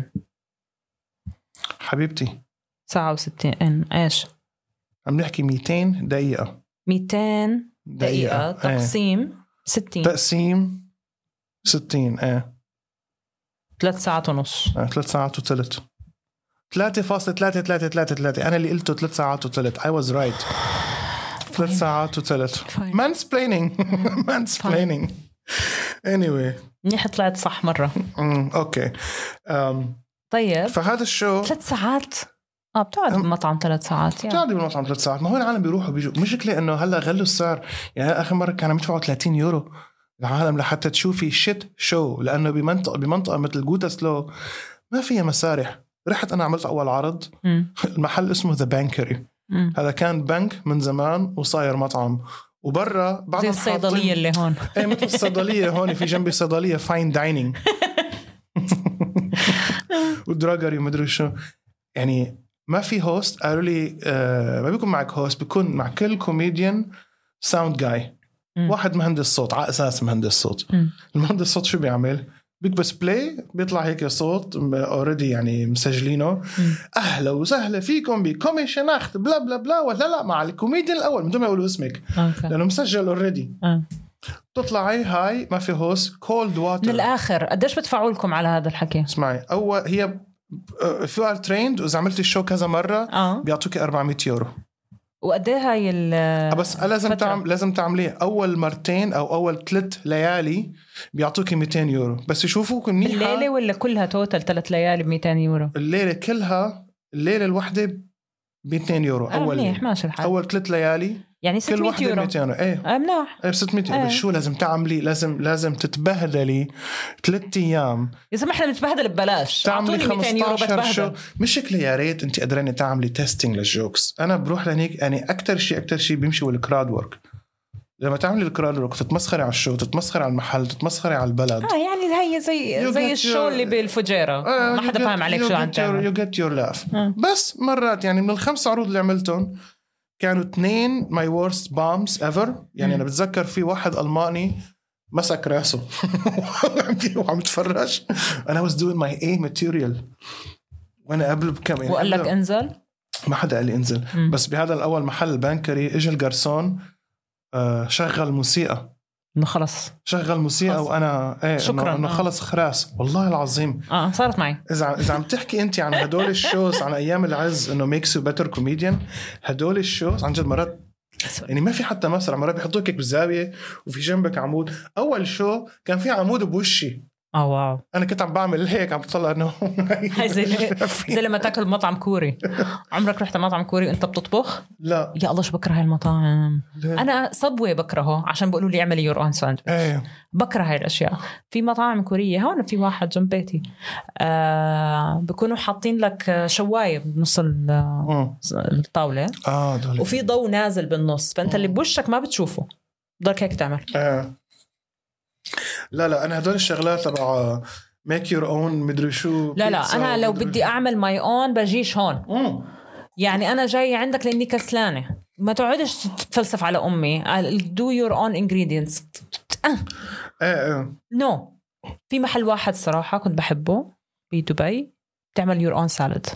حبيبتي. ساعة وستين إيش؟ عم نحكي ميتين دقيقة. ميتين دقيقة, دقيقة. تقسيم ايه. ستين تقسيم ستين ايه ثلاث ساعات ونص. اه ثلاث ساعات وثلث. ثلاثة فاصلة ثلاثة ثلاثة ثلاثة ثلاثة. أنا اللي قلته ثلاث ساعات وثلث. I was right. ثلاث ساعات وثلث. mansplaining mansplaining anyway منيح طلعت صح مرة. امم اوكي أم. طيب فهذا الشو ثلاث ساعات اه بتقعد بالمطعم ثلاث ساعات يعني. بتقعد بالمطعم ثلاث ساعات. ما هو العالم بيروحوا بيجوا. مشكلة إنه هلا غلوا السعر يعني آخر مرة كانوا يدفعوا ثلاثين يورو العالم لحتى تشوفي شيت شو لأنه بمنطقة بمنطقة مثل جوتاسلو ما فيها مسارح. رحت أنا عملت أول عرض م. المحل اسمه ذا بانكري. هذا كان بنك من زمان وصاير مطعم وبرا بعد زي الصيدلية اللي هون. ايه مثل الصيدلية هون في جنبي صيدلية فاين دايننج ودراجري ومدري شو يعني ما في هوست. قالوا لي آه ما بيكون معك هوست بيكون مع كل كوميديان ساوند جاي واحد مهندس صوت على أساس مهندس صوت. م. المهندس صوت شو بيعمل بيكبس بلاي بيطلع هيك صوت اوريدي يعني مسجلينه م. اهلا وسهلا فيكم بكوميشي ناخت بلا بلا بلا ولا لا مع الكوميديان الاول من دون ما يقولوا اسمك أوكي. لانه مسجل اوريدي. تطلعي هاي ما في هوست كولد واتر. من الاخر قديش بدفعوا لكم على هذا الحكي؟ اسمعي اول هي if you are trained وإذا عملتي الشو كذا مرة آه. بيعطوك أربعمية يورو. وقديه هاي ال بس لازم تعمل لازم تعمليه أول مرتين أو أول ثلاث ليالي بيعطوك مئتين يورو بس يشوفوك منيحة. الليلة ولا كلها توتال ثلاث ليالي بمئتين يورو؟ الليلة كلها الليلة الواحدة بمئتين يورو. أول أول ثلاث ليالي يعني ستمية يورو مئتين ايه مناح ايه ستمية يورو. ايه. بس شو لازم تعملي؟ لازم لازم تتبهدلي ثلاث ايام يا زلمه احنا بنتبهدل ببلاش، تعملي مئتين يورو بتبهدل. مش شكلي يا ريت انت قدراني تعملي تيستينج للجوكس. انا بروح لهنيك يعني اكتر شيء اكتر شيء بيمشي والكراود ورك. لما تعملي الكراود ورك تتمسخري على الشو، تتمسخري على المحل، تتمسخري على البلد. اه يعني هي زي زي الشو اللي بالفجيره uh, ما حدا فاهم عليك شو عم تعمل. يو جيت يور لاف. آه. بس مرات يعني من الخمس عروض اللي عملتهم كانوا اثنين ماي وورست بامز ايفر. يعني م. انا بتذكر في واحد الماني مسك راسه وعم تفرج. انا was doing my A material وانا قبل بكم يعني وقال لك انزل؟ ما حدا قال لي انزل. م. بس بهذا الاول محل بانكري اجى الجرسون آه شغل موسيقى انه خلص شغل موسيقى خلص. وانا ايه شكرا انه آه. خلص خراس والله العظيم. اه صارت معي. اذا اذا عم تحكي انت عن هدول الشوز عن ايام العز انه ميكس يو بيتر كوميديان، هدول الشوز عن جد مرات يعني ما في حتى مسرح، مرات بيحطوك بالزاويه وفي جنبك عمود. اول شو كان في عمود بوشي. اه واو. انا كنت عم بعمل هيك عم بطلع انه هاي زي زي لما تاكل مطعم كوري. عمرك رحت مطعم كوري وانت بتطبخ؟ لا يا الله شو بكره هاي المطاعم. ليه؟ انا صبوي بكرهه عشان بيقولوا لي اعملي يور اون ساندويتش. ايه. بكره هاي الاشياء. في مطاعم كوريه هون في واحد جنب بيتي آه بيكونوا حاطين لك شوايه بنص الطاوله اه دولي. وفي ضوء نازل بالنص فانت اللي بوشك ما بتشوفه ضلك هيك تعمل. اه لا لا انا هدول الشغلات تبع ميك يور اون مدري شو. لا لا انا لو بدي اعمل ماي اون بجيش هون. مم. يعني انا جاي عندك لاني كسلانه، ما تقعدش تتفلسف على امي do your own ingredients. ايه ايه نو. في محل واحد صراحه كنت بحبه بدبي تعمل your own salad.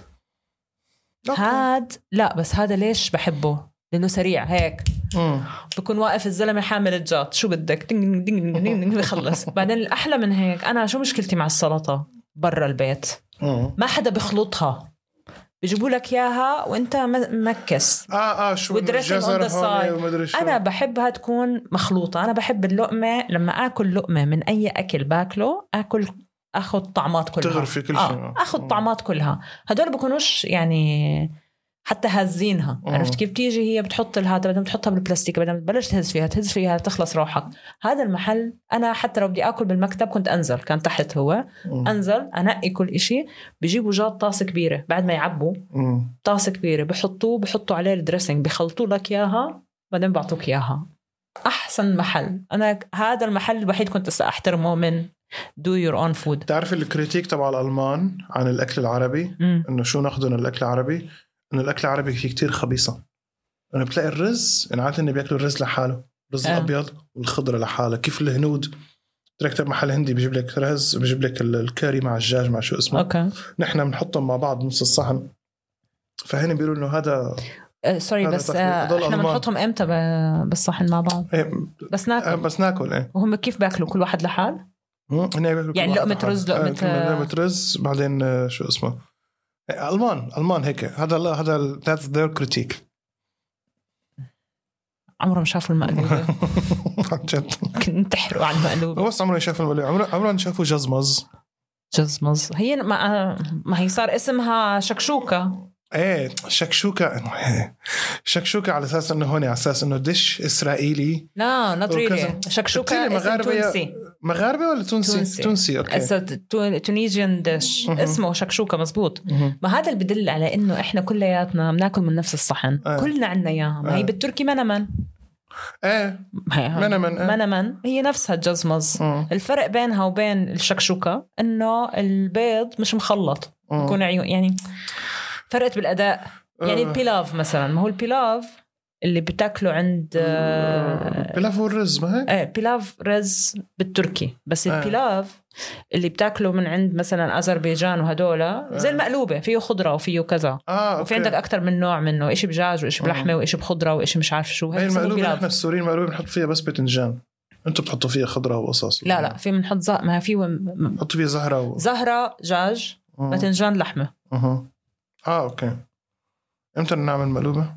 هاد لا بس هذا ليش بحبه؟ لأنه سريع هيك. مم. بكون واقف الزلمة حامل الجات شو بدك دين دين دين دين بيخلص. بعدين الأحلى من هيك أنا شو مشكلتي مع السلطة برا البيت؟ مم. ما حدا بيخلطها، بيجيبوا لك إياها وأنت مكس اه اه شو الجزر هون. أنا بحبها تكون مخلوطة. أنا بحب اللقمة لما آكل لقمة من أي أكل باكله آكل أخذ طعمات كلها. تغرفي كل شيء. آه. أخذ طعمات كلها. هدول بكونوش يعني حتى هازينها. عرفت كيف؟ تيجي هي بتحط الهذا بدهم تحطها بالبلاستيك بدهم تبلش تهز فيها تهز فيها تخلص روحك. هذا المحل أنا حتى لو بدي أكل بالمكتب كنت أنزل كان تحت هو مم. أنزل أنقي كل إشي بيجيبوا جات طاسة كبيرة بعد ما يعبوا مم. طاسة كبيرة بحطوه بحطوا عليه الدريسنج بيخلطوا لك إياها بعدين بعطوك إياها. أحسن محل. أنا هذا المحل الوحيد كنت أحترمه من do your own food. تعرف الكريتيك تبع الألمان عن الأكل العربي مم. إنه شو ناخذون الأكل العربي إنه الأكل العربي فيه كتير خبيصة. أنا بتلاقي الرز أنا عادة إني بيأكلوا الرز لحاله رز آه. الأبيض والخضرة لحاله. كيف الهنود تركت محل هندي بيجيب لك رز بيجيب لك الكاري مع الدجاج مع شو اسمه أوكي. نحن بنحطهم مع بعض نص الصحن. فهنا بيقولوا إنه هذا أه سوري بس آه إحنا بنحطهم إمتى بالصحن مع بعض؟ إيه بس ناكل آه بس ناكل إيه. وهم كيف بيأكلوا كل واحد لحال؟ يعني لقمة رز لقمة آه لقمة رز بعدين آه شو اسمه ألمان ألمان هيك. هذا هذا that's their critique. عمرهم شافوا المقلوبة. عن جد كنت تحرقوا على المقلوبة. بس عمرهم شافوا المقلوبة. عمرهم عمرهم شافوا جزمز. جزمز هي ما ما هي صار اسمها شكشوكة. ايه شكشوكة. شكشوكة على اساس انه هون على اساس انه دش اسرائيلي. لا not really. شكشوكة مغاربي مغاربي ولا تونسي؟ تونسي, تونسي. اوكي تونيزيان دش اسمه شكشوكة مزبوط. ما هذا اللي بدل على انه احنا كلياتنا بناكل من نفس الصحن. آه. كلنا عنا اياها. ما هي بالتركي منمن. ايه منمن آه. منمن هي نفسها الجزمز. آه. الفرق بينها وبين الشكشوكة انه البيض مش مخلط يكون عيون يعني فرقت بالأداء. يعني البيلاف مثلا ما هو البيلاف اللي بتاكله عند بيلاف والرز ما هيك؟ ايه بيلاف رز بالتركي بس آه. البيلاف اللي بتاكله من عند مثلا أذربيجان وهدولا زي آه. المقلوبة فيه خضرة وفيه كذا آه، وفي عندك أكتر من نوع منه إشي بجاج وإشي بلحمة وإشي بخضرة وإشي مش عارف شو. هي المقلوبة نحن السوريين المقلوبة بنحط فيها بس بتنجان. أنتوا بتحطوا فيها خضرة وقصص. لا لا في بنحط زه... ما في م... حطوا فيها زهرة و... زهرة دجاج بتنجان لحمة. أه. اه اوكي. امتى نعمل مقلوبة؟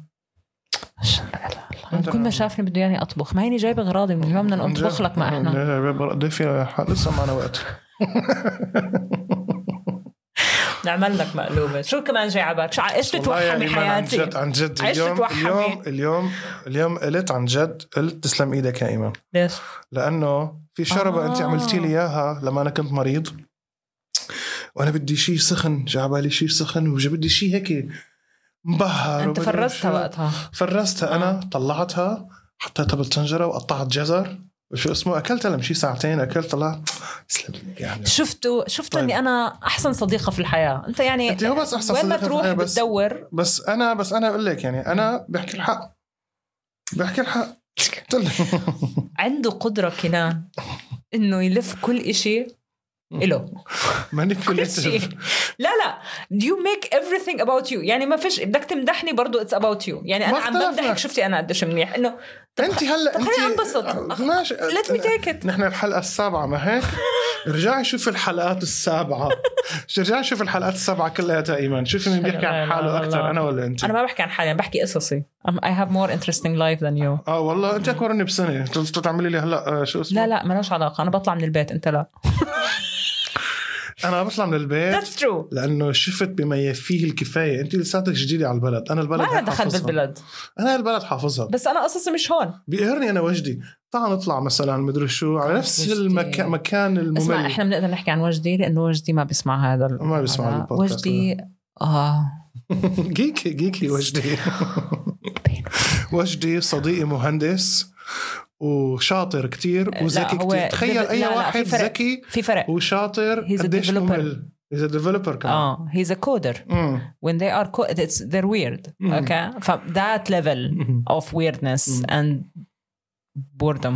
كل ما شافني بده يعني اطبخ. ما هيني جايبه اغراضي من اليوم بدنا نطبخ لك ما احنا ضيفي لسه معنا وقت. نعمل لك مقلوبة. شو كمان جاي عبالك؟ شو ايش بتوحمي يعني حياتي؟ عن جد عن جد اليوم اليوم اليوم اليوم قلت عن جد قلت تسلم ايدك يا ايمان. ليش؟ لانه في شربة آه. انت عملتي لي اياها لما انا كنت مريض وانا بدي شيء سخن، جابالي شيء سخن وبدي شيء هيك مبهر. انت فرزتها وقتها؟ فرزتها آه. انا طلعتها حطيتها بالطنجرة وقطعت جزر وشو اسمه أكلتها لما شي ساعتين أكلت طلع سلم يعني. شفتوا شفتوا طيب. إني أنا أحسن صديقة في الحياة. أنت يعني أنت هو بس أحسن وين ما صديقة تروح بس بتدور. بس أنا بس أنا أقول لك يعني أنا بحكي الحق بحكي الحق عنده قدرة كنان إنه يلف كل إشي إله كل شيء. لا لا you make everything about you يعني ما فيش بدك تمدحني برضو it's about you يعني أنا عم بمدحك. شفتي أنا قديش منيح إنه انت هلا انت انبسط ماشي let me take it. نحن الحلقة السابعة ما هيك رجعي شوف الحلقات السابعة رجعي شوف الحلقات السبعة كلها ايمان شوفي مين بيحكي عن حاله اكثر انا ولا انت. انا ما بحكي عن حالي انا بحكي قصصي. I have more interesting life than you. اه والله انت اكبر مني بسنة تعملي لي هلا شو اسمه. لا لا ما لهش علاقة انا بطلع من البيت انت لا. أنا بطلع من البيت That's true. لأنه شفت بما يفيه الكفاية. أنت لساتك جديدة على البلد. أنا البلد ما أنا دخلت بالبلد. أنا البلد حافظها بس أنا قصصي مش هون. بيقهرني أنا وجدي تعال نطلع مثلا مدري شو على نفس المكان مكان الممل. اسمع إحنا بنقدر نحكي عن وجدي لأنه وجدي ما بيسمع هذا ما بيسمع البودكاست. وجدي آه جيكي جيكي وجدي وجدي صديقي مهندس وشاطر كتير وذكي كتير. تخيل أي واحد ذكي في فرق وشاطر قديش ممل. He's a developer كمان. آه he's a coder. mm. When they are co- it's they're weird. Mm. Okay from that level mm. of weirdness mm. and boredom.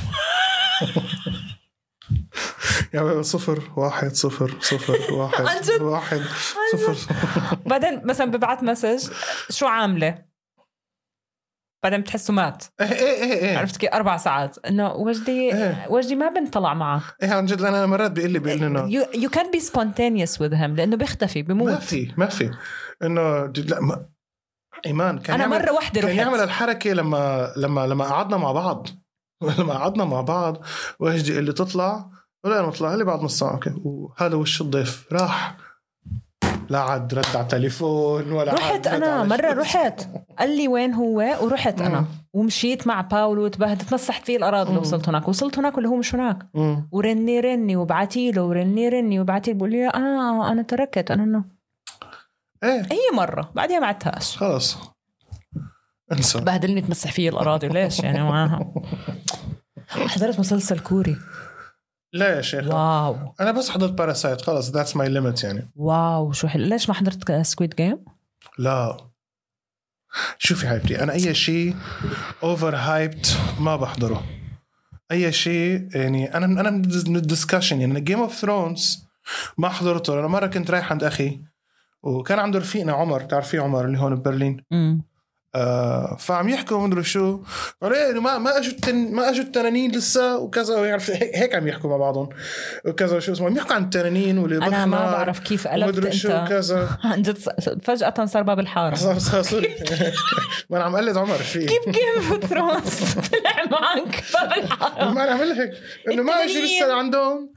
يعني صفر واحد صفر صفر واحد واحد صفر. بعدين مثلا ببعث مسج شو عاملة بعدين بتحسه مات. إيه إيه إيه إيه. عرفت كي أربع ساعات إنه وجدي إيه. وجدي ما بنطلع معك. إيه عن جد أنا مرات بيقول لي بيقول لنا you, you can't be spontaneous with him لأنه بيختفي بيموت. ما في ما في إنه لا ما إيمان كان أنا يعمل مرة واحدة كان يعمل الحركة لما لما لما قعدنا مع بعض لما قعدنا مع بعض وجدي اللي تطلع ولا نطلع لي بعد نص ساعة أوكي وهذا وش الضيف راح لا عاد رد على التليفون ولا رحت أنا مرة رحت قال لي وين هو ورحت أنا ومشيت مع باولو وتبهدت مسحت فيه الأراضي اللي وصلت هناك وصلت هناك واللي هو مش هناك مم. ورني رني وبعتيله ورني رني وبعتيله بقول لي آه أنا تركت أنا إنه إيه هي مرة بعدها ما عدتهاش خلاص انسى بهدلني تمسح فيه الأراضي ليش يعني معها. حضرت مسلسل كوري. لا يا شيخ واو أنا بس حضرت باراسايت خلاص that's my limit يعني. واو شو حلو. ليش ما حضرت سكويد جيم؟ لا شوفي حبيبتي أنا أي شيء over hyped ما بحضره. أي شيء يعني أنا أنا من الدسكشن يعني Game of Thrones ما حضرته. أنا مرة كنت رايح عند أخي وكان عنده رفيقنا عمر تعرفي عمر اللي هون ببرلين م. آه فعم يحكوا مدري شو قالوا ما ما اجوا التن ما اجوا التنانين لسه وكذا ويعرف هيك عم يحكوا مع بعضهم وكذا شو اسمه عم يحكوا عن التنانين واللي انا ما بعرف كيف قلبت انت شو كذا عن جد فجأة صار باب الحارة. سوري ما انا عم قلد عمر فيه كيف جيم اوف ثرونز طلع معك باب الحارة. ما انا عمل هيك انه ما اجوا لسه عندهم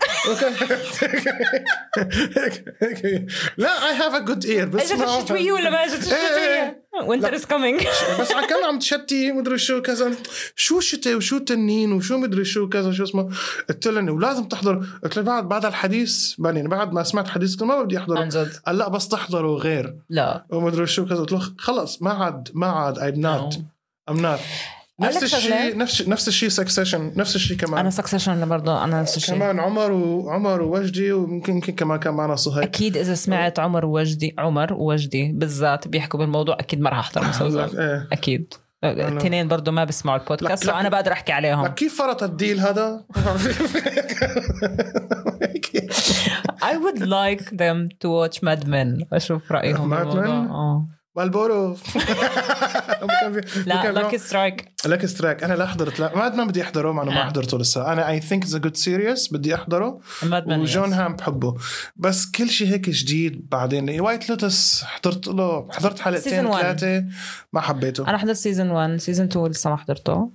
لا I have a good ear بس اجت الشتوية ولا ما اجت الشتوية winter is coming بس كان عم تشتي مدري شو كذا شو شتاء وشو تنين وشو مدري شو كذا شو اسمه قلت لني ولازم تحضر. قلت له بعد بعد الحديث بعدين بعد ما سمعت حديث ما بدي احضره. قال لا بس تحضره غير لا ومدري شو كذا. قلت له خلص ما عاد ما عاد I'm not I'm not نفس الشيء نفس نفس الشيء سكسيشن نفس الشيء كمان. انا سكسيشن برضه انا نفس الشيء كمان عمر وعمر ووجدي ويمكن يمكن كمان كان معنا صهيب. اكيد اذا سمعت عمر ووجدي عمر ووجدي بالذات بيحكوا بالموضوع اكيد ما راح احضر مسلسل إيه. اكيد الاثنين برضه ما بيسمعوا البودكاست وانا بقدر احكي عليهم. كيف فرط الديل هذا؟ I would like them to watch Mad Men اشوف رايهم بالموضوع. اه بالبورو لا لاكي سترايك لاكي سترايك انا لا حضرت لا ما ما بدي احضره مع انه ما حضرته لسه. انا I think it's a good series بدي احضره وجون هام بحبه بس كل شيء هيك جديد. بعدين وايت لوتس حضرت له حضرت حلقتين ثلاثه ما حبيته. انا حضرت سيزون واحد سيزون اثنين لسه ما حضرته.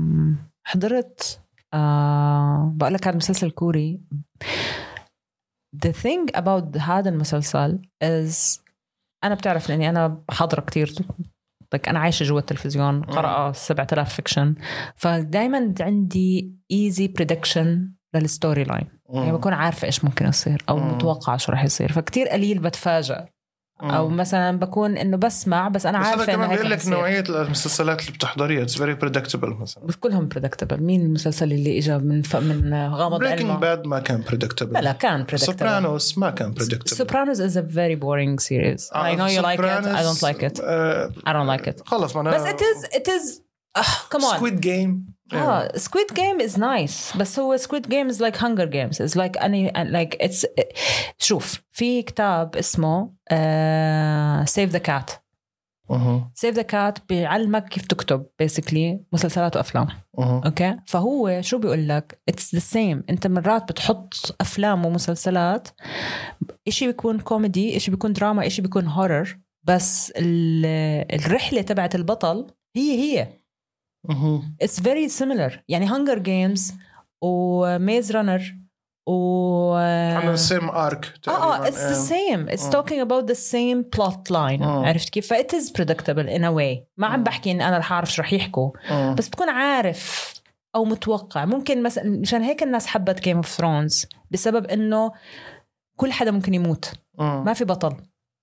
حضرت أه... بقول لك هذا مسلسل كوري the thing about هذا المسلسل is أنا بتعرف لأني أنا حاضرة كتير like أنا عايشة جوا التلفزيون قرأ سبعة آلاف فيكشن فدايما عندي easy prediction للستوري لاين يعني بكون عارفة إيش ممكن يصير أو متوقع شو رح يصير فكتير قليل بتفاجأ أو مثلا بكون إنه بسمع بس أنا عارفة إنه هيك بقول لك نوعية المسلسلات اللي بتحضريها it's very predictable مثلا بس كلهم predictable مين المسلسل اللي إجا من ف... من غامض علمه Breaking Bad ما كان predictable لا لا كان predictable Sopranos ما كان predictable Sopranos is a very boring series uh, I know you like it I don't like it uh, I don't like it خلص ما بس it is it is uh, come on Squid Game Ah, yeah. Squid Game is nice بس هو Squid Game is like Hunger Games it's like any like it's شوف في كتاب اسمه uh, Save the Cat uh-huh. Save the Cat بيعلمك كيف تكتب basically مسلسلات وأفلام uh-huh. okay فهو شو بيقول لك it's the same أنت مرات بتحط أفلام ومسلسلات إشي بيكون كوميدي إشي بيكون دراما إشي بيكون هورر بس الرحلة تبعت البطل هي هي It's very similar يعني Hunger Games و Maze Runner و عندهم same arc اه it's the same it's talking about the same plot line عرفت كيف ف it is predictable in a way ما عم بحكي إن أنا رح أعرف شو رح يحكوا بس بتكون عارف أو متوقع ممكن مثلا مشان هيك الناس حبت Game of Thrones بسبب إنه كل حدا ممكن يموت ما في بطل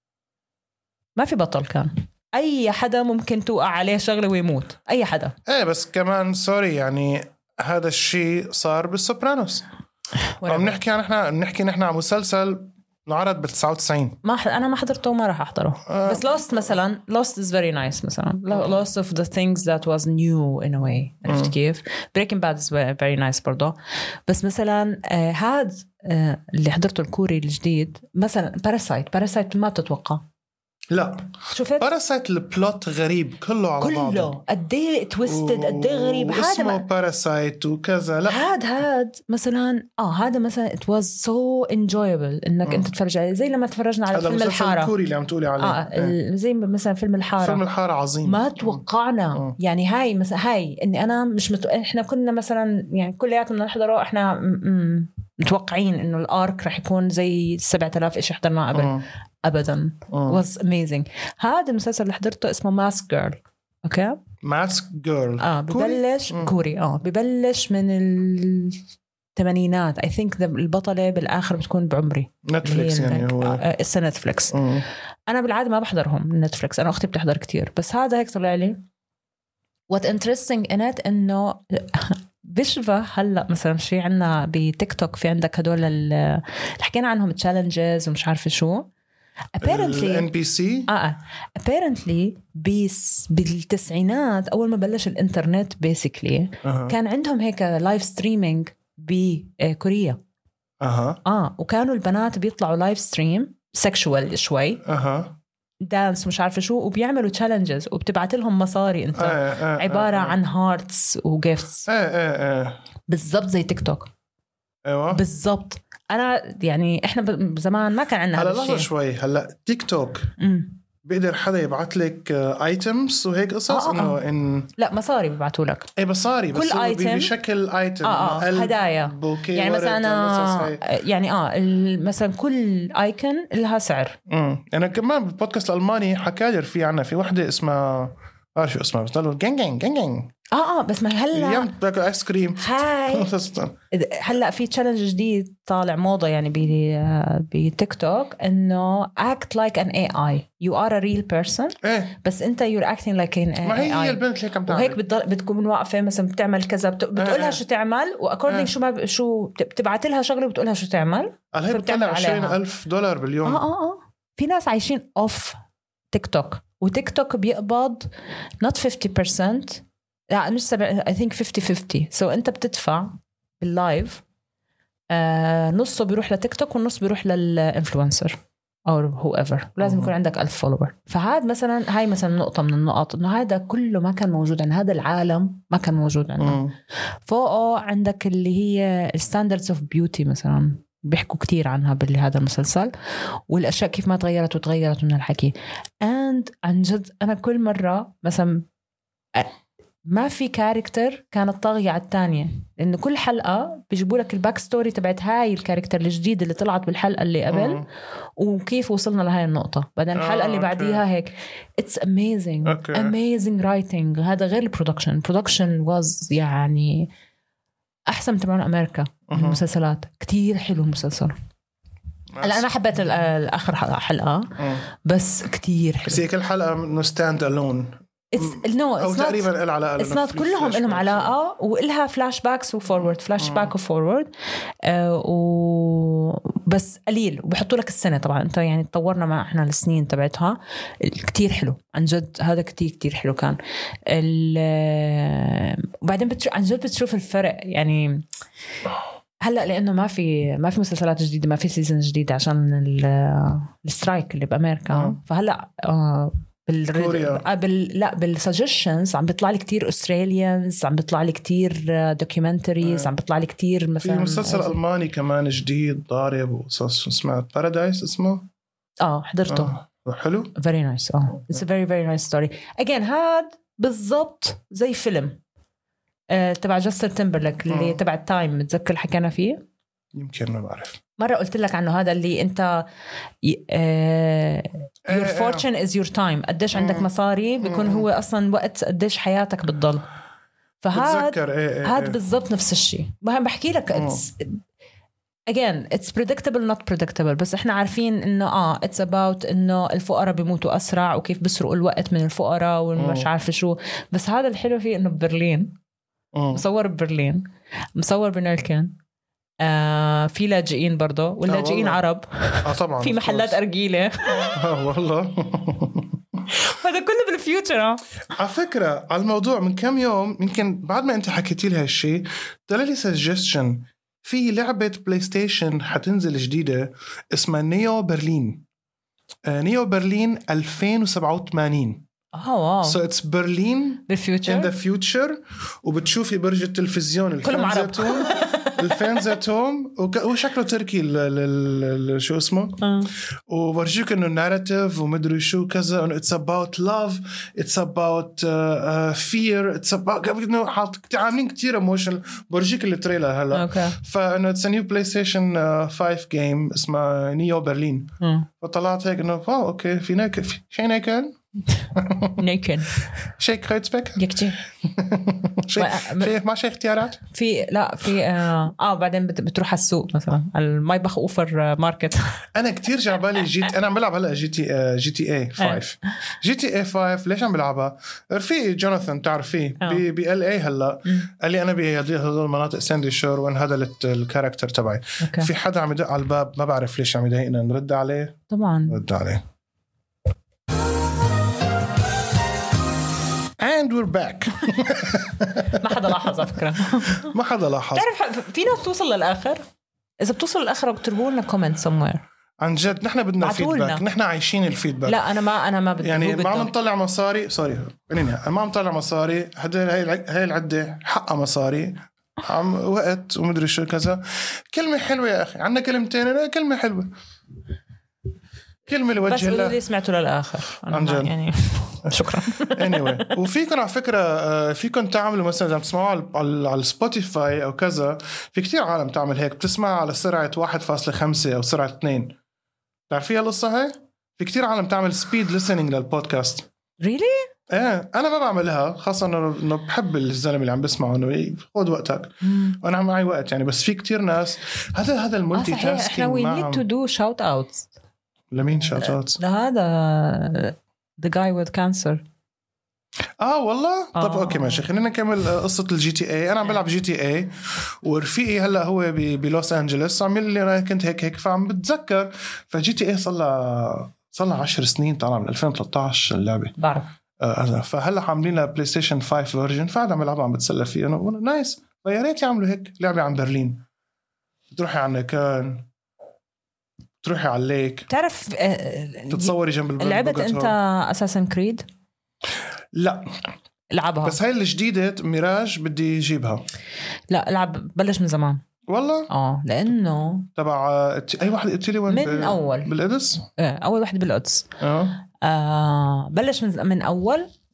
ما في بطل كان أي حدا ممكن توقع عليه شغلة ويموت أي حدا إيه بس كمان سوري يعني هذا الشيء صار بالسوبرانوس عم نحكي عن إحنا نحكي نحن عن مسلسل نعرض بالتسعة وتسعين ما ح... أنا ما حضرته وما راح أحضره آه. بس Lost مثلا Lost is very nice مثلا Lost of the things that was new in a way عرفت كيف Breaking Bad is very nice برضو بس مثلا آه هاد آه اللي حضرته الكوري الجديد مثلا Parasite Parasite ما بتتوقع لا شوفت باراسايت البلوت غريب كله على كله. بعضه كله قديه تويستد قديه غريب هذا اسمه باراسايت وكذا لا هاد هاد مثلا اه هذا مثلا it was so enjoyable انك م. انت تتفرج عليه زي لما تفرجنا على فيلم الحاره الكوري اللي عم تقولي عليه اه اه. زي مثلا فيلم الحاره فيلم الحاره عظيم ما توقعنا م. يعني هاي مثلا هاي اني انا مش مت... احنا كنا مثلا يعني كلياتنا نحضره احنا م... م... متوقعين انه الارك رح يكون زي سبعة آلاف ايش حضرناه قبل م. ابدا was amazing. هذا المسلسل اللي حضرته اسمه ماسك جيرل اوكي ماسك جيرل اه ببلش كوري, كوري. اه ببلش من الثمانينات I think البطلة بالاخر بتكون بعمري نتفليكس يعني هو اسا نتفليكس. انا بالعاده ما بحضرهم نتفليكس انا اختي بتحضر كتير بس هذا هيك طلع لي what interesting in it انه بيشبه هلا مثلا شيء عنا بتيك توك في عندك هدول اللي حكينا عنهم تشالنجز ومش عارفه شو apparently إن بي سي اه apparently بيس بالتسعينات اول ما بلش الانترنت بيسكلي أه. كان عندهم هيك لايف ستريمينج بكوريا اها اه وكانوا البنات بيطلعوا لايف ستريم سكشوال شوي اها دانس مش عارفه شو وبيعملوا تشالنجز وبتبعت لهم مصاري انت آه آه عباره آه عن هارتس وجيفتس آه آه آه. بالضبط زي تيك توك ايوه بالضبط. انا يعني احنا زمان ما كان عندنا هذا الشيء. هلا لحظه شوي هلا تيك توك امم بيقدر حدا يبعث لك ايتمز وهيك قصص آه انه آه. ان لا مصاري ببعثوا لك اي مصاري بس بشكل ايتم آه آه. هدايا يعني مثلا أنا يعني اه مثلا كل ايكون لها سعر. امم انا كمان بالبودكاست الالماني حكالر في عنا في وحده اسمها اه شو اسمها بتقولوا جين جين جين جين اه اه بس ما هلا اليوم باكل ايس كريم هاي هلا في تشالنج جديد طالع موضه يعني بتيك توك انه act like an إيه آي you are a real person إيه؟ بس انت you're acting like an ما هي إيه آي. البنت اللي عم تعمل وهيك بتضل بتكون واقفه مثلا بتعمل كذا بت... بتقولها إيه؟ شو تعمل واكوردنج إيه؟ شو ما شو بتبعت لها شغله وبتقولها شو تعمل هي بتطلع عشرين ألف دولار باليوم. اه اه اه في ناس عايشين اوف تيك توك وتيك توك بيقبض not fifty percent لا مش سبعين I think fifty fifty so أنت بتدفع باللايف آه نصه بيروح لتيك توك والنص بيروح للإنفلونسر أو whoever لازم يكون عندك ألف فولوور. فهذا مثلا هاي مثلا نقطة من النقط إنه هذا كله ما كان موجود عن هذا العالم ما كان موجود عندنا. فوقه عندك اللي هي standards of beauty مثلا بيحكوا كتير عنها بهذا المسلسل والأشياء كيف ما تغيرت وتغيرت من الحكي and عن جد أنا كل مرة مثلا ما في كاركتر كانت طاغية على الثانية، لأنه كل حلقة بيجيبوا لك الباك ستوري تبعت هاي الكاركتر الجديد اللي طلعت بالحلقة اللي قبل مم. وكيف وصلنا لهاي النقطة. بعدين الحلقة آه، اللي أوكي. بعديها هيك. It's amazing أوكي. amazing writing. هذا غير البرودكشن. البرودكشن was يعني أحسن تبعون أمريكا. مهم. المسلسلات كتير حلو المسلسل. هلا أنا حبيت ال- الآخر حلقة مم. بس كتير حلو. بس هي كل حلقة إنه stand alone It's no أو it's not تقريبا إلها علاقة it's لأنه not في كلهم flashbacks. لهم علاقة وإلها فلاش باكس وفورورد فلاش باك وفورورد آه و بس قليل وبحطوا لك السنة. طبعا أنت يعني تطورنا مع إحنا السنين تبعتها. كتير حلو عن جد. هذا كتير كتير حلو كان. وبعدين بتر... عن جد بتشوف الفرق يعني هلا لأنه ما في ما في مسلسلات جديدة ما في سيزون جديد عشان ال... السترايك اللي بأمريكا. مم. فهلا آه كوريا. بال بال لا بالسجشنز عم بيطلع لي كتير أستراليانز، عم بيطلع لي كتير دوكيومنتريز، عم بيطلع لي كتير مثلا في مسلسل ألماني كمان جديد ضارب وصص اسمه بارادايس اسمه. اه حضرته. آه. حلو. very nice. اه it's a very very nice story again. هاد بالضبط زي فيلم آه تبع جاستن تيمبرليك اللي آه. تبع التايم. متذكر حكينا فيه يمكن ما بعرف. مرة قلت لك عنه. هذا اللي انت آه your fortune is your time. قديش عندك مصاري بيكون هو اصلا وقت قديش حياتك بتضل. فهذا بتذكر ايه ايه هذا ايه. بالضبط نفس الشيء. بهم بحكي لك it's again it's predictable not predictable. بس احنا عارفين انه اه it's about انه الفقراء بيموتوا اسرع وكيف بيسرقوا الوقت من الفقراء ومش عارفه شو. بس هذا الحلو فيه انه ببرلين مصور ببرلين مصور بنيركن. آه في لاجئين برضه واللاجئين آه عرب. اه طبعا في محلات أرجيلة. اه والله. هذا كله بالفيوتشر. على فكرة على الموضوع من كم يوم يمكن بعد ما انت حكيتي لي هالشيء طلع لي سجستشن في لعبة بلاي ستيشن حتنزل جديدة اسمها نيو برلين. آه نيو برلين ألفين وسبعة وثمانين. اه واو. so it's Berlin بالفيوتشر in the future. وبتشوفي برج التلفزيون كلهم عرب. الفانزاتوم الفانزاتوم وك... وشكله تركي ال... ال... ال... شو اسمه آه. وبرجيك انه ناراتيف ومدري شو كذا انه it's about love it's about uh, uh, fear it's about انه حاط عاملين كتير emotion. برجيك التريلر هلا. اوكي. فانه it's a new PlayStation خمسة game اسمه نيو برلين. فطلعت هيك انه واو اوكي في ناك في شيء ناكل نيكن شيك خيتسبك يكتي شيء شيء ما شيء اختيارات في لا في اه, آه بعدين بت- بتروح على السوق مثلا المايبخ اوفر ماركت. انا كتير جعبالي جيت انا عم بلعب هلا جي تي آه جي تي اي خمسة. جي تي اي خمسة ليش عم بلعبها؟ رفيقي جوناثان تعرفيه بي ال اي هلا قال لي انا بهذه المناطق ساندي شور وانهدلت الكاركتر تبعي. في حدا عم يدق على الباب ما بعرف ليش عم يضايقنا نرد عليه. طبعا رد عليه. and we're back. ما حدا لاحظ على فكرة. ما حدا لاحظ. تعرف في ناس توصل للآخر. إذا بتوصل للآخر وبتربوا لنا كومنت somewhere. عن جد نحن بدنا فيدباك. نحن عايشين الفيدباك. لا أنا ما أنا ما بدي يعني ما عم نطلع مصاري سوري خليني ما عم نطلع مصاري. هذا هي هي العدة حقها مصاري عم وقت ومدري شو كذا. كلمة حلوة يا أخي عندنا كلمتين أنا كلمة حلوة كلمة لوجه الله. بس اللي سمعته للآخر عن جد يعني شكرا. anyway وفيكم على فكرة فيكم تعملوا مثلا إذا بتسمعوا على على سبوتيفاي أو كذا في كتير عالم تعمل هيك بتسمع على سرعة واحد فاصلة خمسة أو سرعة اثنين. تعرفيها القصة هاي؟ في كتير عالم تعمل سبيد listening للبودكاست. really؟ ايه انا ما بعملها خاصه انه بحب الزلمه اللي عم بسمعه انه خذ وقتك وانا عم معي وقت يعني. بس في كتير ناس هذا هذا المولتي تاسكينج. احنا we need to do shout outs. لمين shout outs؟ لهذا the guy with cancer. اه والله آه. طب اوكي ماشي خلينا نكمل قصه الجي تي اي. انا عم بلعب جي تي اي ورفيقي هلا هو بلوس انجلوس عم يقول لي انا كنت هيك هيك فعم بتذكر. فجي تي اي صار لها صار لها عشر سنين طالعه من ألفين وثلاثة عشر اللعبه بعرف. فهلا عاملين لها بلاي ستيشن خمسة فيرجن فقاعد عم بلعبها عم بتسلى فيها انا نايس. فيا ريت يعملوا هيك لعبه عن برلين. تروحي على المكان تروحي على الليك تعرف تتصوري جنب البلد. لعبت انت اساسن كريد؟ لا لعبها بس هاي الجديدة ميراج بدي جيبها. لا لعب بلش من زمان والله اه لانه تبع اي واحد قلت لي وين من ب... اول بالقدس. ايه اول واحد بالقدس. اه آه بلش من من اول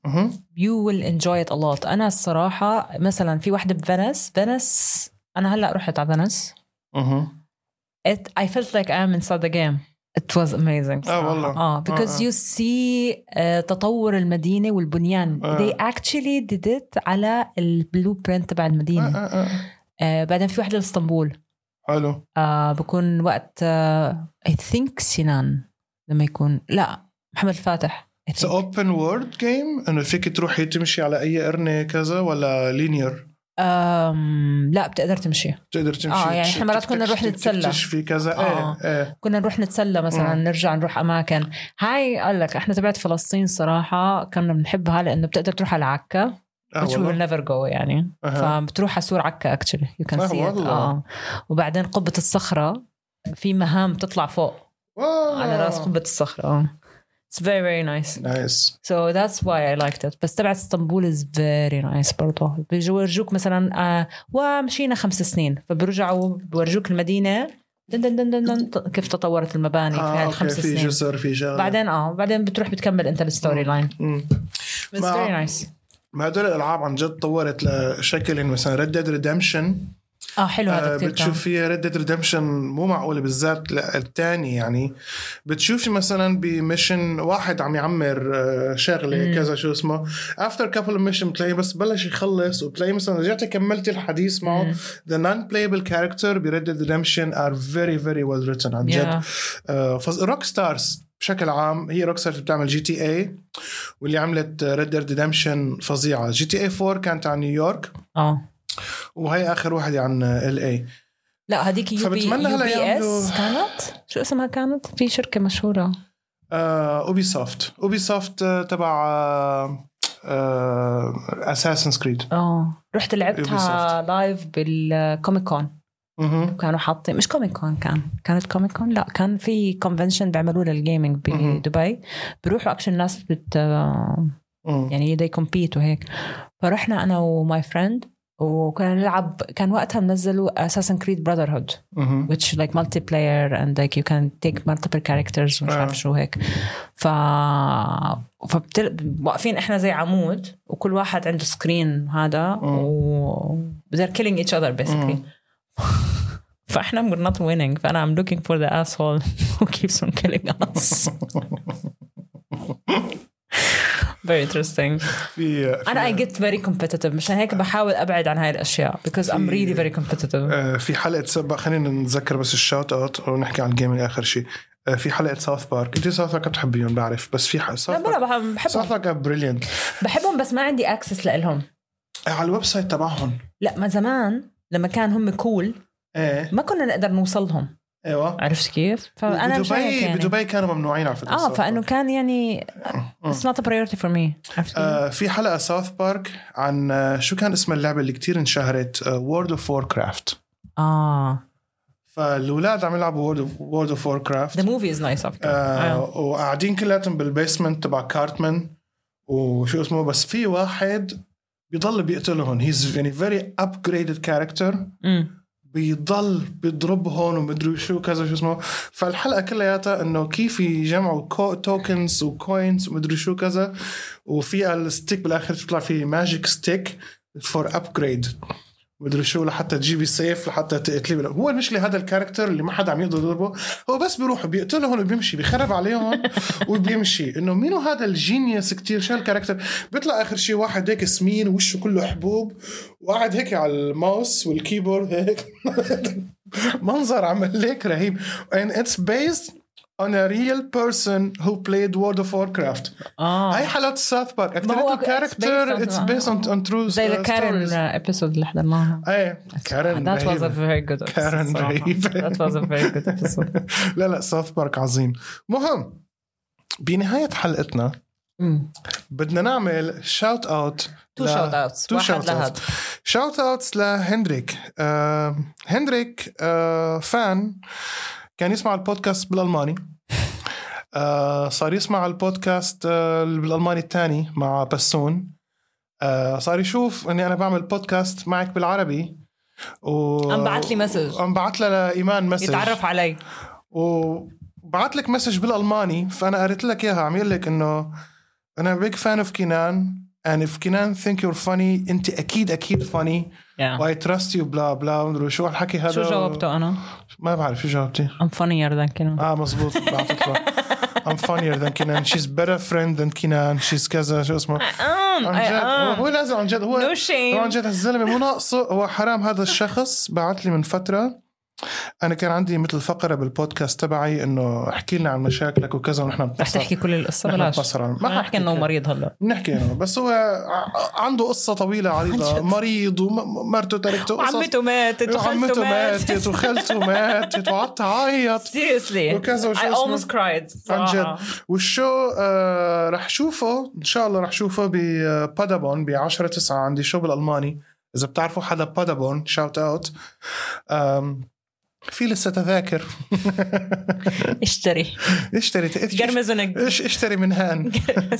you will enjoy it a lot. أنا الصراحة مثلا في واحدة بفينيس فينيس أنا هلأ رحت على فينيس it I felt like I'm inside the game. It was amazing. آه والله. آه because آه. you see uh, تطور المدينة والبنيان. آه. They actually did it على البلو برينت تبع المدينة. آه آه آه. آه بعدين في واحدة لإسطنبول. حلو. آه بكون وقت آه I think سنان لما يكون لا محمد الفاتح. It's an open world game إنه فيك تروحي تمشي على أي قرنة كذا ولا linear؟ أم لا بتقدر تمشي تقدر تمشي اه يعني احنا مرات كنا نروح نتسلى تكتشفي كذا آه. ايه ايه كنا نروح نتسلى مثلا مم. نرجع نروح اماكن. هاي قال لك احنا تبعت فلسطين صراحه كنا بنحبها لانه بتقدر تروح على عكا آه which we will never go يعني أه. فبتروح على سور عكا actually you can آه see it. آه. وبعدين قبة الصخرة في مهام تطلع فوق واو. على راس قبة الصخرة آه. It's very very nice. Nice. So that's why I liked it. بس تبع اسطنبول is very nice برضه. بيجوا يرجوك مثلا آه ومشينا خمس سنين فبرجعوا بورجوك المدينة دن دن دن دن دن كيف تطورت المباني آه في هالخمس في سنين. جسر في شغله بعدين اه بعدين بتروح بتكمل انت الستوري لاين. It's ما- very nice. ما هدول الألعاب عن جد طورت لشكل مثلا Red Dead Redemption اه حلو هذا آه كتير. بتشوف فيها Red Dead Redemption مو معقولة بالذات الثاني يعني بتشوفي مثلا بميشن واحد عم يعمر آه شغلة مم. كذا شو اسمه after couple of mission بتلاقي بس بلش يخلص وبتلاقي مثلا رجعتي كملتي الحديث معه مم. the non-playable character ب Red Dead Redemption are very very well written عن جد. Yeah. آه روك ستارز بشكل عام هي روك ستارز بتعمل جي تي اي واللي عملت Red Dead Redemption فظيعة. جي تي اي فور كانت عن نيويورك اه وهي آخر واحدة عن ال اي. لا هذيك يو بي فبتمنى هلا يو بي يعملوا- اس كانت شو اسمها كانت في شركة مشهورة اوبي سوفت اوبي سوفت تبع اساسنز كريد. اه رحت لعبتها لايف بالكوميك كون كانوا حاطين مش كوميك كون كان كانت كوميك كون لا كان في كونفنشن بيعملوا للجيمنج بدبي بيروحوا اكشن الناس بت يعني they compete وهيك. فرحنا انا وماي فريند وكنا نلعب كان وقتها منزلوا Assassin's Creed Brotherhood which like multiplayer and like you can take multiple characters ومش عارف شو هيك. ف فبتل... واقفين احنا زي عمود وكل واحد عنده سكرين هذا و they're killing each other basically. فاحنا we're not winning فانا I'm looking for the asshole who keeps on killing us. very interesting. في أنا I get very competitive مشان هيك بحاول أبعد عن هاي الأشياء because I'm really very competitive. في حلقة سبق خلينا نتذكر بس الشوت اوت ونحكي عن الجيمنج آخر شيء. في حلقة ساوث بارك انت ساوث بارك بتحبيهم بعرف بس في ساوث لا بلا بارك بحبهم ساوث بارك بريليانت بحبهم بس ما عندي access لهم على الويب سايت تبعهم. لا ما زمان لما كان هم كول ايه ما كنا نقدر نوصلهم ايوه عرفت كيف. فأنا مش هيك بدبي يعني. بدبي كانوا ممنوعين على فكرة. اه فانه كان يعني it's not a priority for me. آه في حلقة ساوث بارك عن آه شو كان اسم اللعبة اللي كتير انشهرت وورد اوف ووركرافت. اه فالولاد عم يلعبوا وورد اوف ووركرافت the movie is nice after. آه وقاعدين كلاتهم بالبيسمنت تبع كارتمان وشو اسمه بس في واحد بيضل بيقتلهم he's يعني very upgraded character امم بيضل بيضربهم ومدري شو كذا شو اسمه. فالحلقة كلياتها انه كيف يجمعوا توكنز وكوينز ومدري شو كذا وفي الستيك بالاخر تطلع فيه ماجيك ستيك فور ابجريد مدري شو لحتى تجيبي سيف لحتى تقتلي. هو المشكلة هذا الكاركتر اللي ما حدا عم يقدر يضربه هو بس بيروح بيقتلهم وبيمشي بيخرب عليهم وبيمشي. انه مينو هذا الجينيوس كتير شو الكاركتر. بيطلع اخر شيء واحد هيك سمين وشه كله حبوب وقاعد هيك على الماوس والكيبورد هيك منظر عمل ليك رهيب. and it's based on a real person who played World of Warcraft. اه هاي حلقة ساوث بارك ما هو اكتريته كاركتر it's based on, on true زي الكارن ابيسود اللي حضرناها. ايه كارن that was a very good كارن رهيبة. that was a very good episode. لا لا ساوث بارك عظيم. مهم بنهاية حلقتنا بدنا نعمل شاوت اوت تو شاوت اوتس واحد لهاد شاوت اوتس لهندريك. آه هندريك آه فان كان يسمع البودكاست بالألماني آه صار يسمع البودكاست آه بالألماني الثاني مع بسون. آه صار يشوف اني انا بعمل بودكاست معك بالعربي و عم بعت لي مسج عم بعت له لإيمان مسج يتعرف علي وبعت لك مسج بالألماني فأنا قريت لك إياها عم يقول لك إنه أنا big fan of كينان and if كينان think you're funny أنت أكيد أكيد funny yeah. I trust you بلا بلا ودرو شو الحكي هذا. شو جاوبته أنا؟ ما بعرف شو جاوبتي. I'm funnier than كينان. آه مزبوط بعطيك I'm funnier than كينان. She's better friend than كينان. She's كذا شو اسمه. عن جد هو لازم عن جد هو. No shame. هو عن جد الزلمة مو ناقصه. هو حرام هذا الشخص بعت لي من فترة. أنا كان عندي مثل فقرة بالبودكاست تبعي إنه احكي لنا عن مشاكلك وكذا ونحن رح تحكي كل القصة بلاش. ما حكي إنه مريض هلا. نحكي إنه بس هو عنده قصة طويلة عريضة. مريض ومرته تركته. وعمته ماتت وعمته ماتت وخالته ماتت وقعدت عيط. Seriously. وكذا I almost cried. عن جد. والشو آه رح شوفه إن شاء الله رح شوفه ببادابون بعشرة تسعة عندي شو بالألماني. إذا بتعرفوا حدا بادابون shout out. في لسه تذاكر. اشتري اشتري قرمزونك ايش اشتري من هان.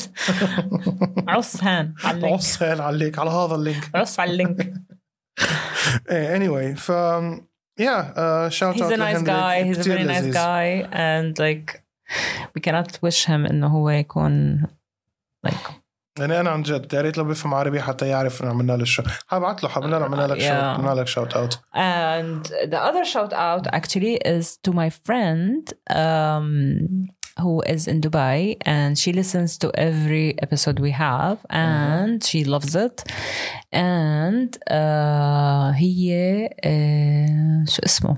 عص هان على اللينك. عص هان على اللينك على هذا اللينك. عص على اللينك. anyway ف yeah uh, shout he's out a nice guy. He's a very nice guy and like we cannot wish him إنه هو يكون like يعني أنا عن جد يا ريت لو بيفهم عربي حتى يعرف إنه عملنا له شو. حابعت له حابنا له عملنا لك شو عملنا لك shout out. And the other shout out actually is to my friend um, who is in Dubai and she listens to every episode we have and mm-hmm. she loves it and uh, هي uh, شو اسمه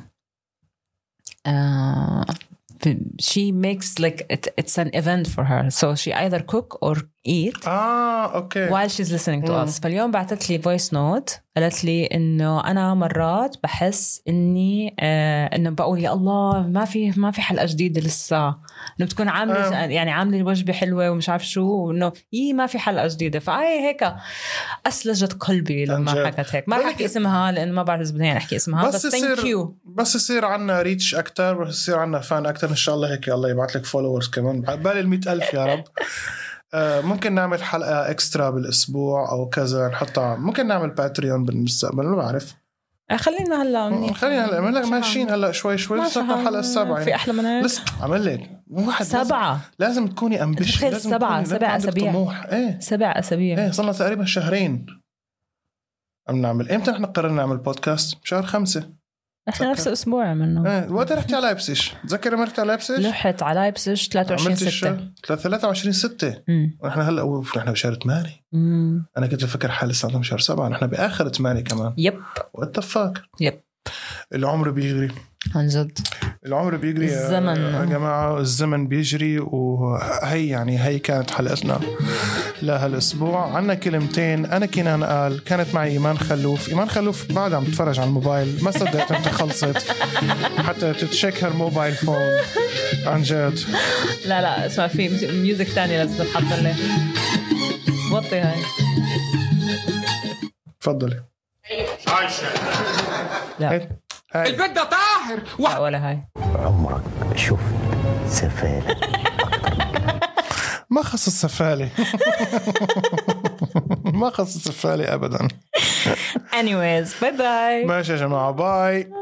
uh, she makes like it, it's an event for her so she either cook or eat ah okay while she's listening to mm. us. فاليوم بعتت لي voice note قالت لي إنه أنا مرات بحس إني آه إنه بقول يا الله ما في ما في حلقة جديدة لسه إنه بتكون عاملة um. يعني عاملة الوجبة حلوة ومش عارف شو وإنه إيه ما في حلقة جديدة فأي هيك أسلجت قلبي لما حكت هيك. ما رح أحكي اسمها لأن ما بعرف إذا بدي أحكي اسمها بس, بس thank you. بس يصير عنا ريتش أكتر بس يصير عنا فان أكتر إن شاء الله هيك الله يبعث لك followers كمان بالي المئة ألف يا رب. ممكن نعمل حلقة إكسترا بالأسبوع أو كذا نحطها. ممكن نعمل باتريون بالمستقبل ما بعرف. خلينا هلا خلينا هلا عمل لك ماشيين هلا شوي شوي لسه الحلقة السابعة في أحلى من هيك. لسه عمل لك واحد سبعة لازم, لازم تكوني أمبيش. لازم سبعة سبع أسابيع. إيه سبع أسابيع. إيه صلنا تقريبا شهرين عم نعمل. إمتى نحن قررنا نعمل بودكاست؟ بشهر خمسة. احنا نفس الاسبوع عملنا. ايه وقت رحتي على لايبسيش تذكر مرت على لايبسيش؟ رحت على لايبسيش ثلاثة وعشرين ستة. ثلاثة وعشرين ستة ونحن هلا نحن بشهر ثمانية. انا كنت بفكر حالي لسه بشهر سبعة نحن باخر ثمانية كمان. يب وات ذا فاك. يب العمر بيجري عن جد. العمر بيجري الزمن يا جماعة. الزمن بيجري وهي يعني هي كانت حلقتنا لهالأسبوع. عنا كلمتين أنا كينان قال. كانت معي إيمان خلوف. إيمان خلوف بعد عم تتفرج على الموبايل ما صدقت أنت خلصت حتى تتشيك هر موبايل فون عن جد. لا لا اسمع في ميوزك تاني لازم تحط لي. وطي هاي. تفضلي. لا هاي. البيت ده طاهر لا ولا هاي. عمرك شفت سفالة ما خص السفالة. ما خص السفالة أبدا. anyways باي باي. ماشي يا جماعة باي.